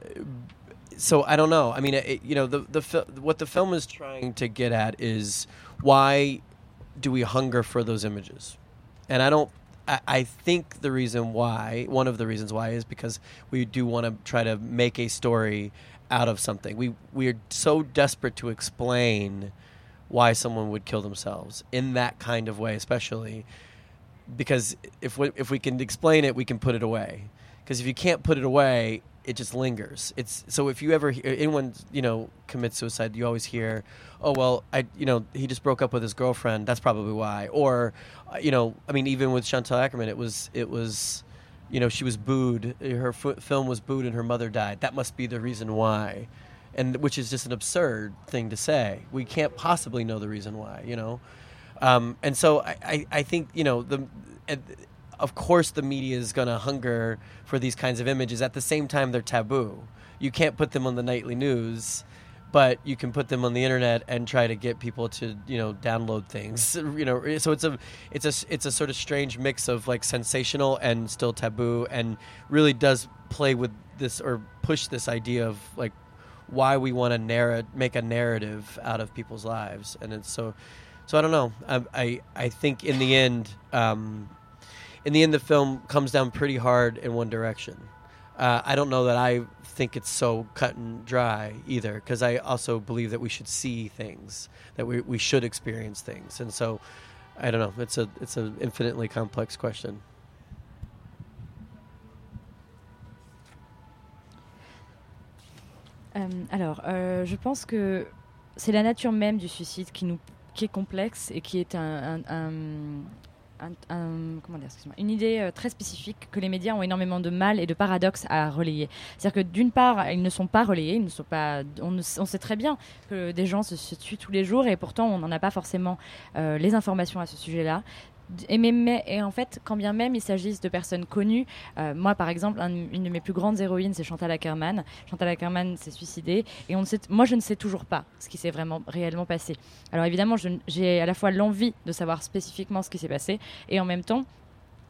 so I don't know. I mean, it, you know, the the fil- what the film is trying to get at is why do we hunger for those images? And I don't. I, I think the reason why, one of the reasons why, is because we do want to try to make a story out of something. We we are so desperate to explain why someone would kill themselves in that kind of way, especially because if we, if we can explain it, we can put it away. Because if you can't put it away, it just lingers. It's so if you ever anyone you know commits suicide, you always hear, oh well, I you know he just broke up with his girlfriend. That's probably why. Or you know, I mean, even with Chantal Ackerman, it was it was. You know, she was booed. Her f- film was booed, and her mother died. That must be the reason why, and which is just an absurd thing to say. We can't possibly know the reason why. You know, um, and so I, I, I think you know the. Uh, of course, the media is going to hunger for these kinds of images. At the same time, they're taboo. You can't put them on the nightly news, but you can put them on the internet and try to get people to, you know, download things. You know, so it's a, it's a, it's a sort of strange mix of like sensational and still taboo, and really does play with this or push this idea of like why we want to narrate, make a narrative out of people's lives, and it's so, so I don't know. I, I, I think in the end, um, in the end, the film comes down pretty hard in one direction. Uh, I don't know that I think it's so cut and dry either, because I also believe that we should see things, that we we should experience things, and so I don't know. It's a it's an infinitely complex question. Euh, alors, euh, je pense que c'est la nature même du suicide qui nous qui est complexe et qui est un, un, un Un, un, comment dire, excuse-moi, une idée euh, très spécifique que les médias ont énormément de mal et de paradoxes à relayer. C'est-à-dire que d'une part, ils ne sont pas relayés, ils ne sont pas, on, ne, on sait très bien que des gens se, se tuent tous les jours et pourtant on n'en a pas forcément euh, les informations à ce sujet-là. Et, mais, mais, et en fait, quand bien même il s'agisse de personnes connues, euh, moi par exemple, un, une de mes plus grandes héroïnes, c'est Chantal Ackerman. Chantal Ackerman s'est suicidée et on ne sait, moi je ne sais toujours pas ce qui s'est vraiment réellement passé. Alors évidemment, je, j'ai à la fois l'envie de savoir spécifiquement ce qui s'est passé et en même temps,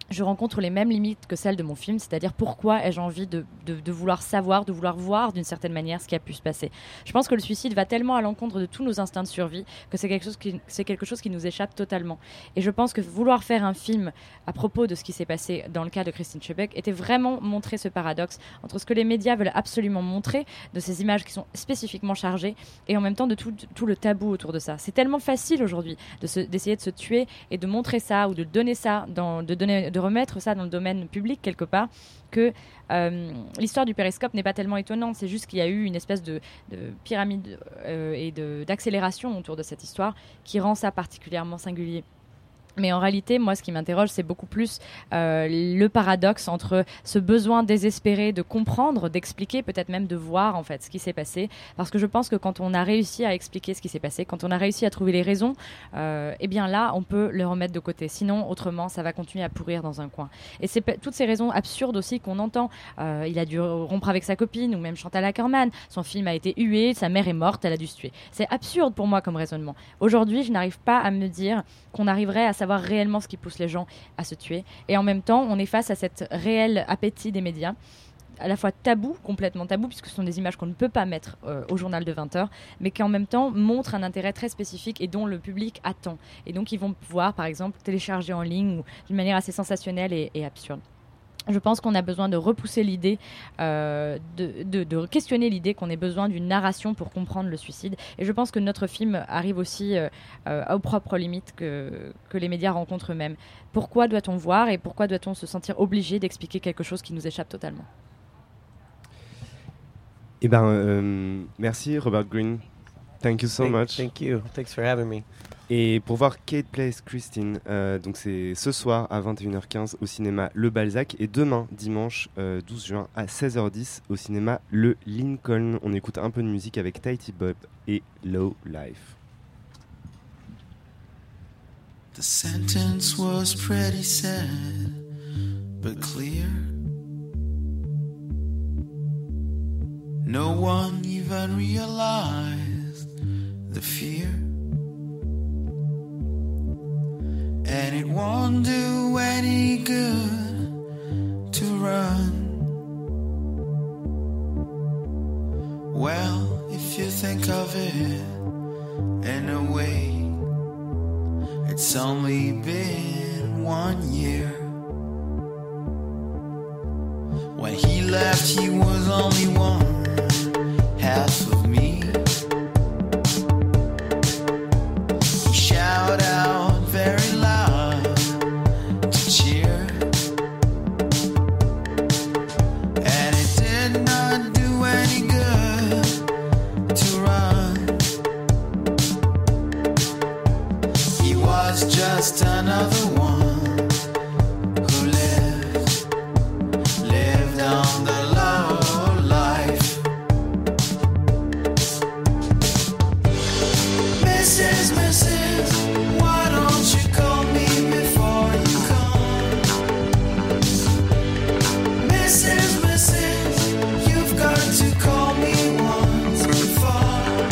je rencontre les mêmes limites que celles de mon film, c'est-à-dire pourquoi ai-je envie de, de, de vouloir savoir, de vouloir voir d'une certaine manière ce qui a pu se passer. Je pense que le suicide va tellement à l'encontre de tous nos instincts de survie que c'est quelque chose qui, c'est quelque chose qui nous échappe totalement. Et je pense que vouloir faire un film à propos de ce qui s'est passé dans le cas de Christine Schebeck était vraiment montrer ce paradoxe entre ce que les médias veulent absolument montrer, de ces images qui sont spécifiquement chargées, et en même temps de tout, tout le tabou autour de ça. C'est tellement facile aujourd'hui de se, d'essayer de se tuer et de montrer ça ou de donner ça, dans, de, donner, de remettre ça dans le domaine public quelque part, que euh, l'histoire du périscope n'est pas tellement étonnante. C'est juste qu'il y a eu une espèce de, de pyramide euh, et de, d'accélération autour de cette histoire qui rend ça particulièrement singulier. Mais en réalité, moi, ce qui m'interroge, c'est beaucoup plus euh, le paradoxe entre ce besoin désespéré de comprendre, d'expliquer, peut-être même de voir en fait ce qui s'est passé. Parce que je pense que quand on a réussi à expliquer ce qui s'est passé, quand on a réussi à trouver les raisons, euh, eh bien là, on peut le remettre de côté. Sinon, autrement, ça va continuer à pourrir dans un coin. Et c'est p- toutes ces raisons absurdes aussi qu'on entend. Euh, il a dû rompre avec sa copine, ou même Chantal Akerman. Son film a été hué, sa mère est morte, elle a dû se tuer. C'est absurde pour moi comme raisonnement. Aujourd'hui, je n'arrive pas à me dire qu'on arriverait à savoir réellement ce qui pousse les gens à se tuer. Et en même temps, on est face à cet réel appétit des médias, à la fois tabou, complètement tabou, puisque ce sont des images qu'on ne peut pas mettre euh, au journal de vingt heures, mais qui en même temps montrent un intérêt très spécifique et dont le public attend. Et donc, ils vont pouvoir, par exemple, télécharger en ligne ou d'une manière assez sensationnelle et, et absurde. Je pense qu'on a besoin de repousser l'idée, euh, de, de, de questionner l'idée qu'on ait besoin d'une narration pour comprendre le suicide. Et je pense que notre film arrive aussi euh, euh, aux propres limites que, que les médias rencontrent eux-mêmes. Pourquoi doit-on voir et pourquoi doit-on se sentir obligé d'expliquer quelque chose qui nous échappe totalement ? Eh ben, euh, merci Robert Greene. Thank you so Thank, much. Thank you. Thanks for having me. Et pour voir Kate Plays Christine, euh, donc c'est ce soir à vingt et une heures quinze au cinéma Le Balzac et demain, dimanche euh, douze juin à seize heures dix au cinéma Le Lincoln. On écoute un peu de musique avec Tighty Bob et Low Life. The sentence was pretty sad, but clear. No one even realized the fear. And it won't do any good to run. Well, if you think of it in a way, it's only been one year. When he left, he was only one half of me. He shouted out very loud to cheer, and it did not do any good to run. He was just another one who lived, lived on the low life. Missus, Missus, why don't you call me before you come? Missus, Missus, you've got to call me once before.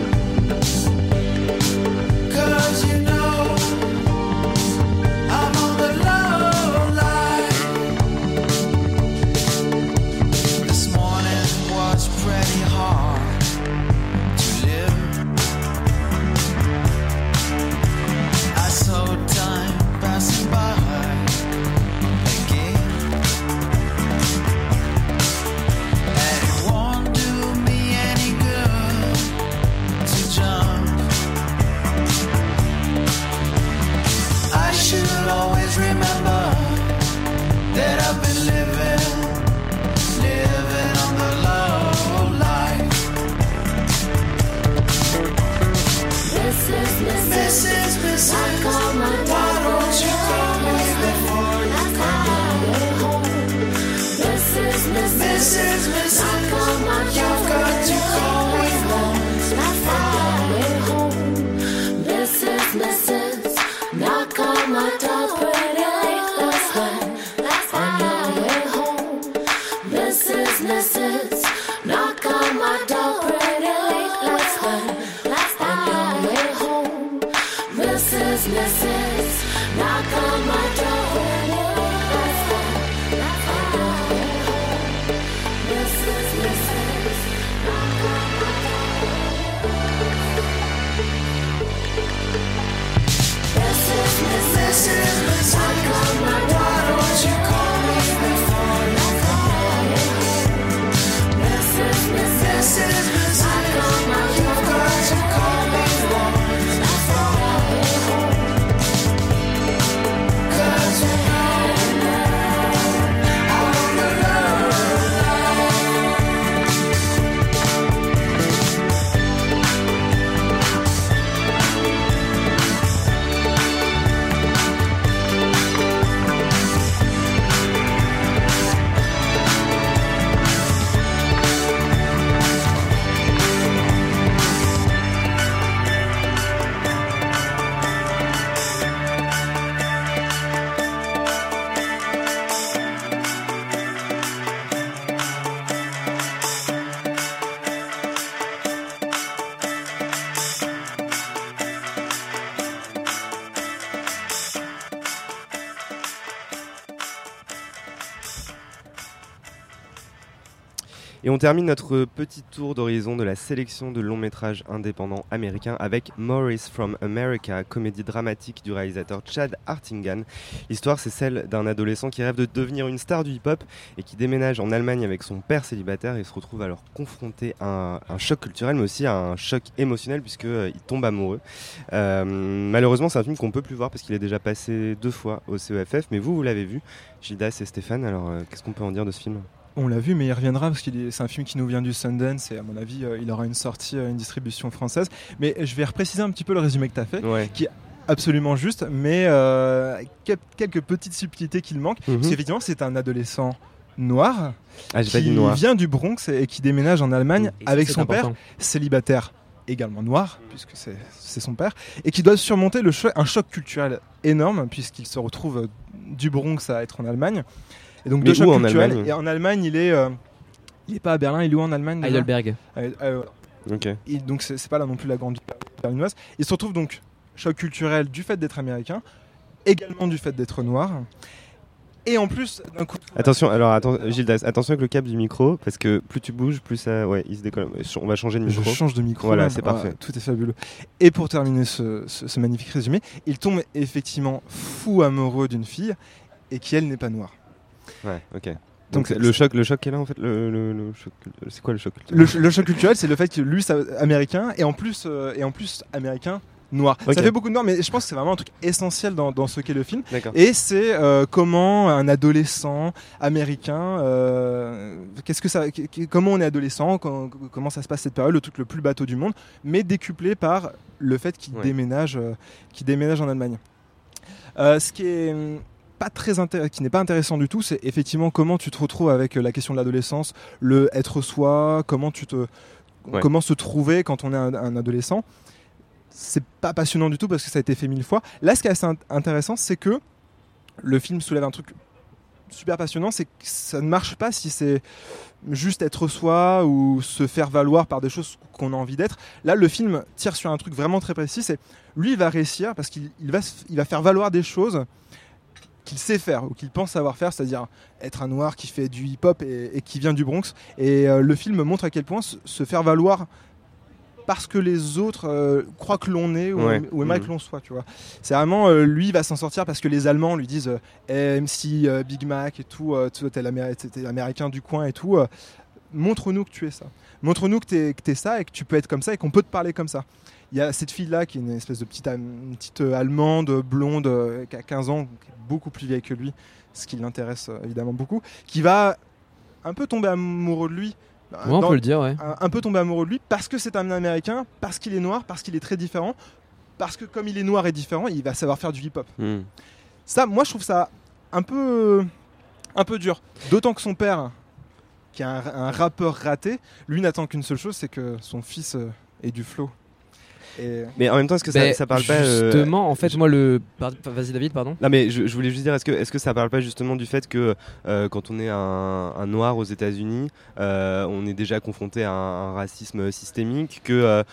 Cause you know I'm on the low life. This morning was pretty hard to live. I saw time passing by again, and it won't do me any good to jump. I should always remember that I've been living, living on the low life. Missus, Missus, Missus, why don't you call me before you come? Missus, Missus, Missus, you've got to call me once before. Missus, Missus, knock on my door pretty late last night. On your way home. Missus, Missus, knock on my door pretty late last night. On your way home. Missus, Missus, knock on my door pretty late last night. Et on termine notre petit tour d'horizon de la sélection de longs métrages indépendants américains avec Maurice from America, comédie dramatique du réalisateur Chad Hartigan. L'histoire, c'est celle d'un adolescent qui rêve de devenir une star du hip-hop et qui déménage en Allemagne avec son père célibataire et se retrouve alors confronté à un, un choc culturel, mais aussi à un choc émotionnel puisqu'il euh, tombe amoureux. Euh, malheureusement, c'est un film qu'on ne peut plus voir parce qu'il est déjà passé deux fois au C E F F, mais vous, vous l'avez vu, Gildas et Stéphane, alors euh, qu'est-ce qu'on peut en dire de ce film ? On l'a vu, mais il reviendra parce que c'est un film qui nous vient du Sundance et à mon avis, euh, il aura une sortie, euh, une distribution française. Mais je vais repréciser un petit peu le résumé que tu as fait, ouais. qui est absolument juste, mais euh, quelques petites subtilités qu'il manque. Mm-hmm. Parce qu'effectivement, c'est un adolescent noir ah, j'ai qui pas dit noir. vient du Bronx et qui déménage en Allemagne et avec ça, son important. père, célibataire, également noir, puisque c'est, c'est son père, et qui doit surmonter le cho- un choc culturel énorme, puisqu'il se retrouve du Bronx à être en Allemagne. Et donc, deux chocs culturels. Et en Allemagne, il est, euh, il est pas à Berlin, il est où en Allemagne Heidelberg. Euh, euh, okay. Et donc, c'est, c'est pas là non plus la grande berlinoise. Il se retrouve donc choc culturel du fait d'être américain, également du fait d'être noir. Et en plus, d'un coup. Attention, alors attends, Gildas, attention avec le câble du micro, parce que plus tu bouges, plus ça. Ouais, il se décolle. On va changer de micro. Je change de micro. Voilà, là. c'est Ah, parfait. Tout est fabuleux. Et pour terminer ce, ce, ce magnifique résumé, il tombe effectivement fou amoureux d'une fille et qui, elle, n'est pas noire. Ouais, ok. Donc, Donc le choc, le choc qu'elle a en fait, le, le, le choc, c'est quoi le choc culturel ? le, le choc culturel, c'est le fait que lui, c'est américain et en plus, euh, et en plus américain noir. Okay. Ça fait beaucoup de noir, mais je pense que c'est vraiment un truc essentiel dans, dans ce qu'est le film. D'accord. Et c'est euh, comment un adolescent américain, euh, qu'est-ce que ça, comment on est adolescent, quand, comment ça se passe cette période, le truc le plus bateau du monde, mais décuplé par le fait qu'il ouais. déménage, euh, qu'il déménage en Allemagne. Euh, ce qui est pas très intér- qui n'est pas intéressant du tout, c'est effectivement comment tu te retrouves avec la question de l'adolescence, le être soi, comment tu te, ouais. comment se trouver quand on est un, un adolescent. C'est pas passionnant du tout parce que ça a été fait mille fois. Là, ce qui est assez intéressant, c'est que le film soulève un truc super passionnant, c'est que ça ne marche pas si c'est juste être soi ou se faire valoir par des choses qu'on a envie d'être. Là, le film tire sur un truc vraiment très précis, c'est lui, il va réussir parce qu'il il va, il va faire valoir des choses qu'il sait faire ou qu'il pense savoir faire, c'est-à-dire être un noir qui fait du hip-hop et, et qui vient du Bronx. Et euh, le film montre à quel point se, se faire valoir parce que les autres euh, croient que l'on est ou, ouais. ou aimeraient mmh. que l'on soit, tu vois. C'est vraiment, euh, lui, il va s'en sortir parce que les Allemands lui disent euh, M C, euh, Big Mac et tout, euh, tu es l'Américain, l'Américain du coin et tout, euh, montre-nous que tu es ça. Montre-nous que tu es, que t'es ça et que tu peux être comme ça et qu'on peut te parler comme ça. Il y a cette fille-là qui est une espèce de petite, une petite euh, Allemande, blonde, euh, qui a quinze ans, qui est beaucoup plus vieille que lui, ce qui l'intéresse euh, évidemment beaucoup, qui va un peu tomber amoureux de lui. Ouais, on peut le dire, ouais. Un, un peu tomber amoureux de lui parce que c'est un Américain, parce qu'il est noir, parce qu'il est très différent, parce que comme il est noir et différent, il va savoir faire du hip-hop. Mm. Ça, moi, je trouve ça un peu, un peu dur. D'autant que son père, qui est un, un rappeur raté, lui n'attend qu'une seule chose, c'est que son fils euh, ait du flow. Et... Mais en même temps, est-ce que ça, bah, ça parle justement, pas euh... Justement, en fait, je... moi, le. Vas-y, David, pardon. Non, mais je, je voulais juste dire, est-ce que, est-ce que ça parle pas justement du fait que euh, quand on est un, un noir aux États-Unis, euh, on est déjà confronté à un, un racisme systémique, que euh,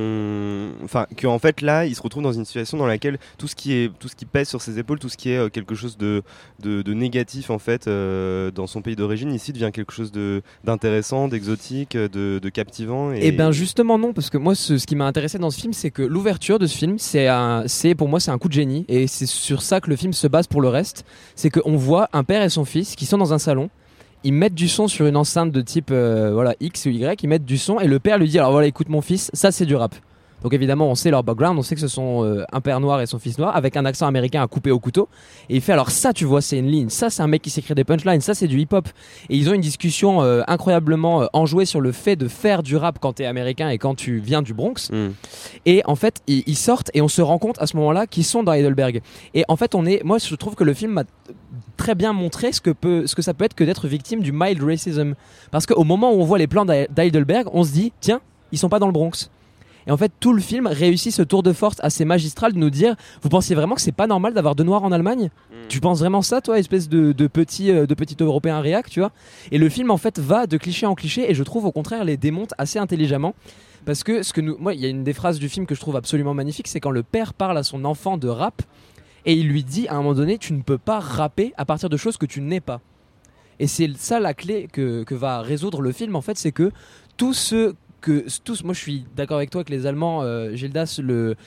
on, enfin, que en fait là, il se retrouve dans une situation dans laquelle tout ce qui est, tout ce qui pèse sur ses épaules, tout ce qui est euh, quelque chose de, de, de négatif en fait euh, dans son pays d'origine, ici devient quelque chose de d'intéressant, d'exotique, de, de captivant. Et... Eh ben justement non, parce que moi, ce, ce qui m'a intéressé dans ce film, c'est que l'ouverture de ce film, c'est, un, c'est pour moi c'est un coup de génie et c'est sur ça que le film se base pour le reste. C'est qu'on voit un père et son fils qui sont dans un salon, ils mettent du son sur une enceinte de type euh, voilà, X ou Y, ils mettent du son et le père lui dit alors voilà écoute mon fils, ça c'est du rap. Donc évidemment on sait leur background, on sait que ce sont euh, un père noir et son fils noir avec un accent américain à couper au couteau et il fait alors ça tu vois c'est une ligne, ça c'est un mec qui s'écrit des punchlines, ça c'est du hip hop et ils ont une discussion euh, incroyablement euh, enjouée sur le fait de faire du rap quand t'es américain et quand tu viens du Bronx mm. et en fait ils, ils sortent et on se rend compte à ce moment là qu'ils sont dans Heidelberg et en fait on est, moi je trouve que le film m'a très bien montré ce que, peut, ce que ça peut être que d'être victime du mild racism parce qu'au moment où on voit les plans d'Heidelberg on se dit tiens ils sont pas dans le Bronx. Et en fait, tout le film réussit ce tour de force assez magistral de nous dire vous pensiez vraiment que c'est pas normal d'avoir deux noirs en Allemagne ? mmh. Tu penses vraiment ça, toi, espèce de, de, petit, de petit Européen réac, tu vois ? Et le film, en fait, va de cliché en cliché et je trouve au contraire les démonte assez intelligemment. Parce que, ce que nous, moi, il y a une des phrases du film que je trouve absolument magnifique, c'est quand le père parle à son enfant de rap et il lui dit à un moment donné tu ne peux pas rapper à partir de choses que tu n'es pas. Et c'est ça la clé que, que va résoudre le film, en fait, c'est que tous ceux que tous, moi je suis d'accord avec toi que les Allemands, euh, Gildas le,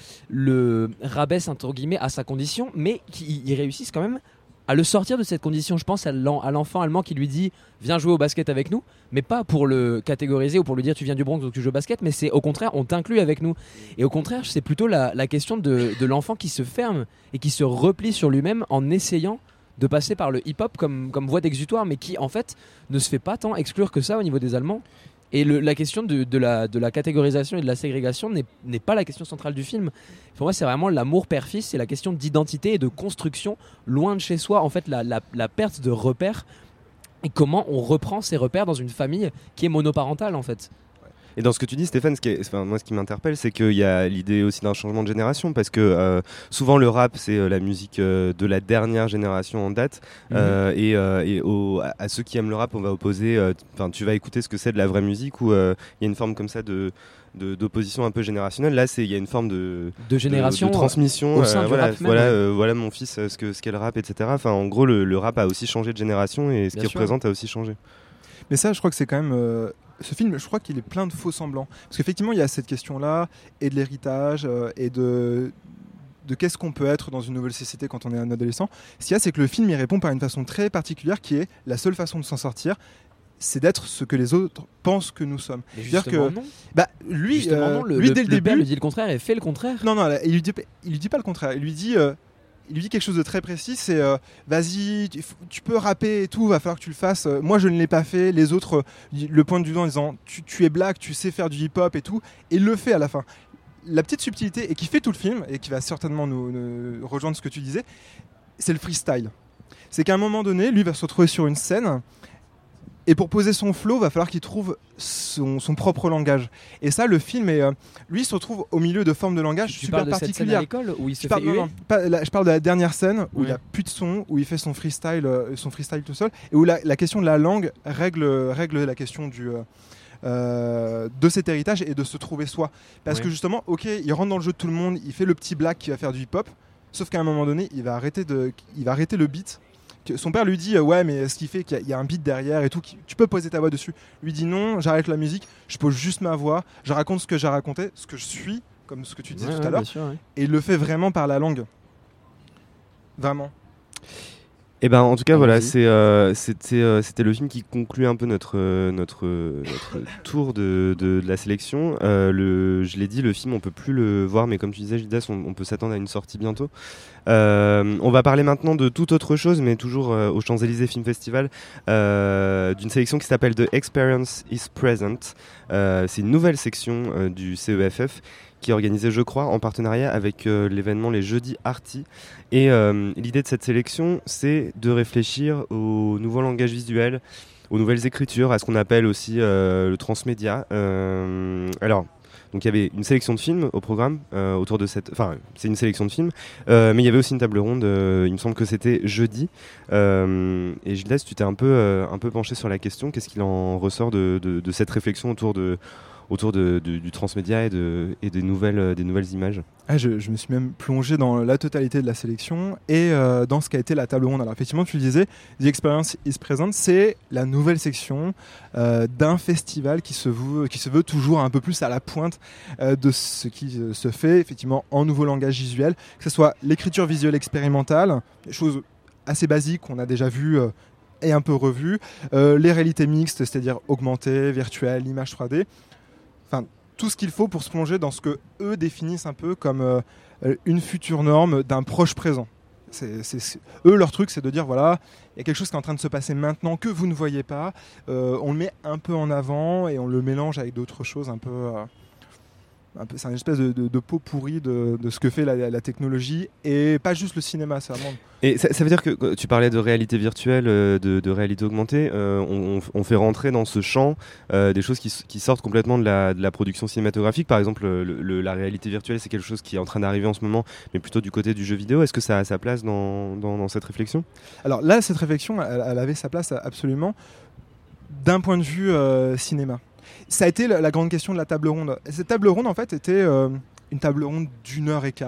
le rabaisse entre guillemets à sa condition, mais qu'ils réussissent quand même à le sortir de cette condition. Je pense à l'en- à l'enfant allemand qui lui dit viens jouer au basket avec nous, mais pas pour le catégoriser ou pour lui dire tu viens du Bronx donc tu joues au basket, mais c'est au contraire on t'inclut avec nous. Et au contraire c'est plutôt la, la question de, de l'enfant qui se ferme et qui se replie sur lui-même en essayant de passer par le hip-hop comme, comme voie d'exutoire, mais qui en fait ne se fait pas tant exclure que ça au niveau des Allemands. Et le, la question de, de, la, de la catégorisation et de la ségrégation n'est, n'est pas la question centrale du film. Pour moi, c'est vraiment l'amour père-fils, c'est la question d'identité et de construction loin de chez soi. En fait, la, la, la perte de repères et comment on reprend ces repères dans une famille qui est monoparentale, en fait. Et dans ce que tu dis, Stéphane, ce qui est, enfin, moi, ce qui m'interpelle, c'est qu'il y a l'idée aussi d'un changement de génération, parce que euh, souvent le rap, c'est euh, la musique euh, de la dernière génération en date, mmh. euh, et, euh, et au, à, à ceux qui aiment le rap, on va opposer, enfin, euh, tu vas écouter ce que c'est de la vraie musique, où il euh, y a une forme comme ça de De, d'opposition un peu générationnelle. Là, il y a une forme de, de génération, de, de transmission. au sein euh, du voilà, rap même, voilà, ouais. euh, voilà mon fils, euh, ce, que, ce qu'est le rap, et cetera. Enfin, en gros, le, le rap a aussi changé de génération et ce Bien qu'il sûr. représente a aussi changé. Mais ça, je crois que c'est quand même... Euh, ce film, je crois qu'il est plein de faux semblants. Parce qu'effectivement, il y a cette question-là, et de l'héritage, euh, et de... de qu'est-ce qu'on peut être dans une nouvelle société quand on est un adolescent. Ce qu'il y a, c'est que le film y répond par une façon très particulière qui est la seule façon de s'en sortir, c'est d'être ce que les autres pensent que nous sommes. Mais C'est-à-dire justement que, non. bah, lui, Justement euh, non, le, lui le- dès le, le début, père lui dit le contraire et fait le contraire. non, non, là, il lui dit, il lui dit pas le contraire. Il lui dit, euh, il lui dit quelque chose de très précis. C'est, euh, vas-y, tu, tu peux rapper et tout, va falloir que tu le fasses. Euh, Moi, je ne l'ai pas fait. Les autres euh, le pointent du doigt en disant, tu, tu es black, tu sais faire du hip-hop et tout. Et il le fait à la fin. La petite subtilité et qui fait tout le film et qui va certainement nous, nous rejoindre ce que tu disais, c'est le freestyle. C'est qu'à un moment donné, lui va se retrouver sur une scène. Et pour poser son flow, va falloir qu'il trouve son, son propre langage. Et ça, le film, est, euh, lui, il se retrouve au milieu de formes de langage Tu super parles de cette scène particulières. à l'école où il se je parle, fait non, huer non, pas- là, je parle de la dernière scène où Ouais. il n'y a plus de son, où il fait son freestyle, euh, son freestyle tout seul, et où la, la question de la langue règle, règle la question du... euh, euh, de cet héritage et de se trouver soi. Parce Ouais. que justement, ok, il rentre dans le jeu de tout le monde, il fait le petit black qui va faire du hip-hop, sauf qu'à un moment donné, il va arrêter, de, il va arrêter le beat. Que son père lui dit euh, ouais, mais ce qui fait qu'il y a- il y, a un beat derrière et tout, qui- tu peux poser ta voix dessus. Lui dit non, j'arrête la musique, je pose juste ma voix, je raconte ce que j'ai raconté, ce que je suis, comme ce que tu disais Ouais, tout ouais, à l'heure, bien sûr, ouais. et il le fait vraiment par la langue. Vraiment. Et ben en tout cas Ah, voilà, vas-y. c'est, euh, c'était, euh, c'était le film qui conclut un peu notre, euh, notre, euh, notre tour de, de, de la sélection. Euh, le, je l'ai dit, le film on peut plus le voir, mais comme tu disais Gildas, on, on peut s'attendre à une sortie bientôt. Euh, on va parler maintenant de toute autre chose, mais toujours euh, au Champs-Élysées Film Festival, euh, d'une sélection qui s'appelle The Experience is Present. Euh, c'est une nouvelle section euh, du C E F F qui est organisée, je crois, en partenariat avec euh, l'événement Les Jeudis Arty. Et euh, l'idée de cette sélection, c'est de réfléchir au nouveau langage visuel, aux nouvelles écritures, à ce qu'on appelle aussi euh, le transmédia. Euh, alors, donc il y avait une sélection de films au programme euh, autour de cette... Enfin, c'est une sélection de films, euh, mais il y avait aussi une table ronde, euh, il me semble que c'était jeudi. Euh, et Gildas, tu t'es un peu, euh, un peu penché sur la question. Qu'est-ce qu'il en ressort de, de, de cette réflexion autour de... autour de, de, du transmédia et, de, et des, nouvelles, euh, des nouvelles images. Ah, je, je me suis même plongé dans la totalité de la sélection et euh, dans ce qu'a été la table ronde. Alors effectivement, tu le disais, The Experience is Present, c'est la nouvelle section euh, d'un festival qui se, veut, qui se veut toujours un peu plus à la pointe euh, de ce qui euh, se fait effectivement en nouveau langage visuel, que ce soit l'écriture visuelle expérimentale, des choses assez basiques qu'on a déjà vues euh, et un peu revues, euh, les réalités mixtes, c'est-à-dire augmentées, virtuelles, images trois D. Enfin, tout ce qu'il faut pour se plonger dans ce que eux définissent un peu comme euh, une future norme d'un proche présent. C'est, c'est, c'est- eux, leur truc, c'est de dire voilà, il y a quelque chose qui est en train de se passer maintenant que vous ne voyez pas. Euh, on le met un peu en avant et on le mélange avec d'autres choses un peu. euh, un peu c'est une espèce de, de, de pot pourri de, de ce que fait la, la technologie et pas juste le cinéma, c'est vraiment. Et ça, ça veut dire que euh, tu parlais de réalité virtuelle, euh, de, de réalité augmentée, euh, on, on- on fait rentrer dans ce champ euh, des choses qui, s- qui sortent complètement de la, de la production cinématographique. Par exemple, le- le- la réalité virtuelle, c'est quelque chose qui est en train d'arriver en ce moment, mais plutôt du côté du jeu vidéo. Est-ce que ça a sa place dans, dans, dans cette réflexion ? Alors là, cette réflexion, elle, elle avait sa place absolument d'un point de vue euh, cinéma. Ça a été la, la grande question de la table ronde. Et cette table ronde, en fait, était euh, une table ronde d'une heure et quart,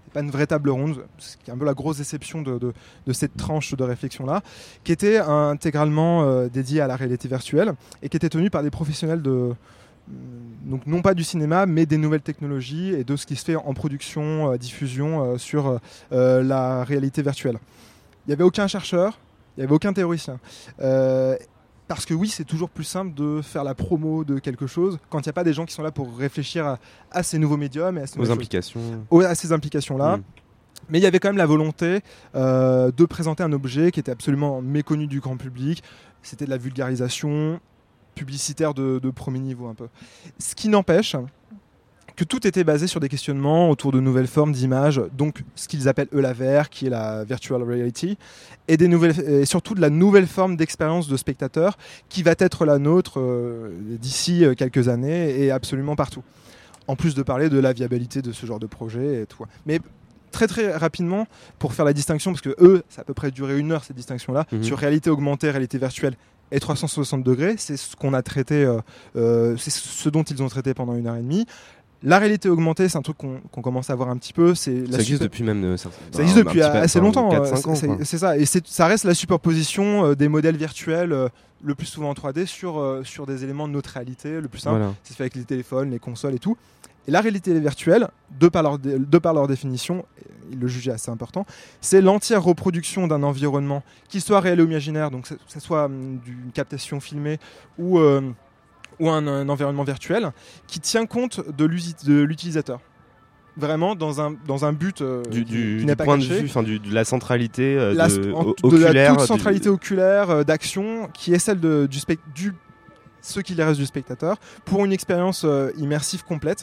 pas une vraie table ronde, ce qui est un peu la grosse déception de, de, de cette tranche de réflexion-là, qui était intégralement euh, dédiée à la réalité virtuelle et qui était tenue par des professionnels de... Donc non pas du cinéma, mais des nouvelles technologies et de ce qui se fait en production, euh, diffusion euh, sur euh, la réalité virtuelle. Il n'y avait aucun chercheur, il n'y avait aucun théoricien. Euh, parce que oui, c'est toujours plus simple de faire la promo de quelque chose quand il n'y a pas des gens qui sont là pour réfléchir à, à ces nouveaux médiums et à ces aux implications. Aux, à ces implications-là. Mmh. Mais il y avait quand même la volonté euh, de présenter un objet qui était absolument méconnu du grand public. C'était de la vulgarisation publicitaire de, de premier niveau un peu. Ce qui n'empêche que tout était basé sur des questionnements autour de nouvelles formes d'images, donc ce qu'ils appellent eux la V R, qui est la virtual reality, et, des nouvelles, et surtout de la nouvelle forme d'expérience de spectateur qui va être la nôtre euh, d'ici quelques années et absolument partout. En plus de parler de la viabilité de ce genre de projet et tout. Mais très très rapidement, pour faire la distinction, parce que eux, ça a à peu près duré une heure cette distinction-là, mmh. sur réalité augmentée, réalité virtuelle et trois cent soixante degrés, c'est ce qu'on a traité, euh, euh, c'est ce dont ils ont traité pendant une heure et demie. La réalité augmentée, c'est un truc qu'on qu'on commence à voir un petit peu. C'est ça la existe super... depuis même euh, ça existe bah, depuis assez longtemps. quatre cinq ans. C'est, c'est ça, et c'est, ça reste la superposition euh, des modèles virtuels, euh, le plus souvent en trois D, sur, euh, sur des éléments de notre réalité. Le plus simple, voilà. C'est fait avec les téléphones, les consoles et tout. Et la réalité virtuelle, de par leur, dé- de par leur définition, ils le jugeaient assez important, c'est l'entière reproduction d'un environnement, qu'il soit réel ou imaginaire, donc que ce soit hum, d'une captation filmée ou... Euh, ou un, un environnement virtuel qui tient compte de, de l'utilisateur. Vraiment dans un, dans un but euh, du, du, qui n'est du pas point caché. de vue, enfin, du, de la centralité euh, la, de, en, oculaire, de la toute du... centralité oculaire euh, d'action qui est celle de, du, spect- du ce qu'il reste du spectateur pour une expérience euh, immersive complète.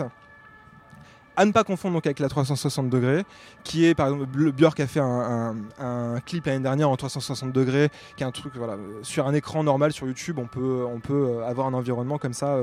À ne pas confondre donc avec la trois cent soixante degrés, qui est par exemple, Björk a fait un, un, un clip l'année dernière en trois cent soixante degrés, qui est un truc voilà, sur un écran normal sur YouTube, on peut, on peut avoir un environnement comme ça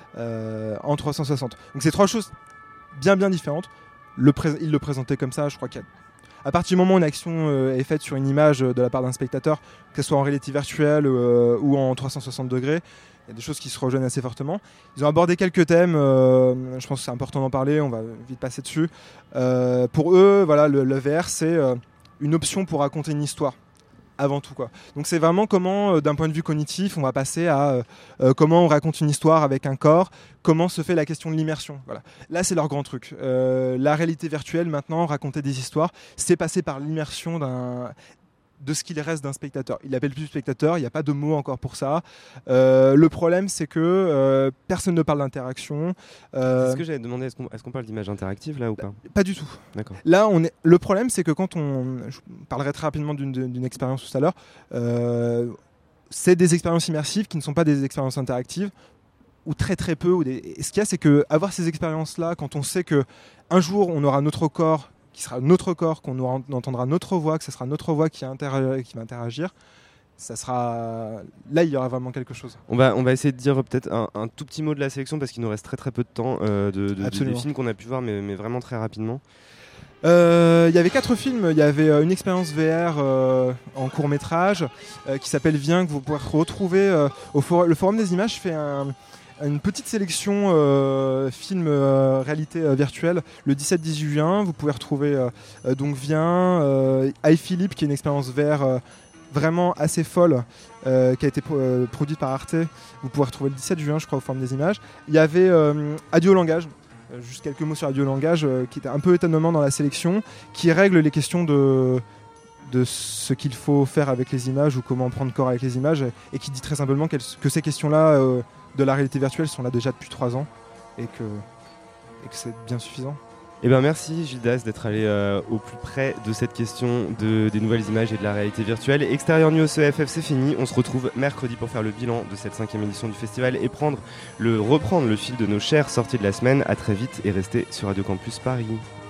euh, en trois cent soixante. Donc c'est trois choses bien bien différentes. Le pré- il le présentait comme ça, je crois qu'il y a à partir du moment où une action euh, est faite sur une image de la part d'un spectateur, que ce soit en réalité virtuelle euh, ou en trois cent soixante degrés, il y a des choses qui se rejoignent assez fortement. Ils ont abordé quelques thèmes, euh, je pense que c'est important d'en parler, on va vite passer dessus. Euh, pour eux, voilà, le, le V R, c'est euh, une option pour raconter une histoire, avant tout, quoi. Donc c'est vraiment comment, euh, d'un point de vue cognitif, on va passer à euh, comment on raconte une histoire avec un corps, comment se fait la question de l'immersion. Voilà. Là, c'est leur grand truc. Euh, la réalité virtuelle, maintenant, raconter des histoires, c'est passer par l'immersion d'un... de ce qu'il reste d'un spectateur. Il l'appelle plus spectateur, il n'y a pas de mot encore pour ça. Euh, le problème, c'est que euh, personne ne parle d'interaction. Euh, c'est ce que j'avais demandé, est-ce qu'on, est-ce qu'on parle d'image interactive là ou pas ? Pas du tout. D'accord. Là, on est... le problème, c'est que quand on... Je parlerai très rapidement d'une, d'une expérience tout à l'heure. Euh, c'est des expériences immersives qui ne sont pas des expériences interactives, ou très très peu. Ou des... Et ce qu'il y a, c'est qu'avoir ces expériences-là, quand on sait qu'un jour, on aura notre corps qui sera notre corps, qu'on aura, on entendra notre voix, que ce sera notre voix qui, interag- qui va interagir, ça sera... là il y aura vraiment quelque chose. On va, on va essayer de dire peut-être un, un tout petit mot de la sélection parce qu'il nous reste très très peu de temps euh, de, de, de, des films qu'on a pu voir, mais, mais vraiment très rapidement. Il euh, y avait quatre films. Il y avait euh, une expérience V R euh, en court métrage euh, qui s'appelle Viens, que vous pourrez retrouver euh, au for- le Forum des images fait un... une petite sélection euh, films euh, réalité euh, virtuelle le dix-sept dix-huit juin. Vous pouvez retrouver euh, euh, donc Viens, euh, I, Philippe, qui est une expérience V R euh, vraiment assez folle, euh, qui a été pro- euh, produite par Arte. Vous pouvez retrouver le dix-sept juin, je crois, au Forum des images. Il y avait euh, Adieu langage, euh, juste quelques mots sur Adieu langage, euh, qui était un peu étonnement dans la sélection, qui règle les questions de de ce qu'il faut faire avec les images ou comment prendre corps avec les images, et, et qui dit très simplement que ces questions-là euh, de la réalité virtuelle sont là déjà depuis trois ans et que, et que c'est bien suffisant. Eh ben merci Gildas d'être allé euh, au plus près de cette question de, des nouvelles images et de la réalité virtuelle. Extérieur News E F F, c'est fini. On se retrouve mercredi pour faire le bilan de cette cinquième édition du festival et prendre le, reprendre le fil de nos chères sorties de la semaine. À très vite et restez sur Radio Campus Paris.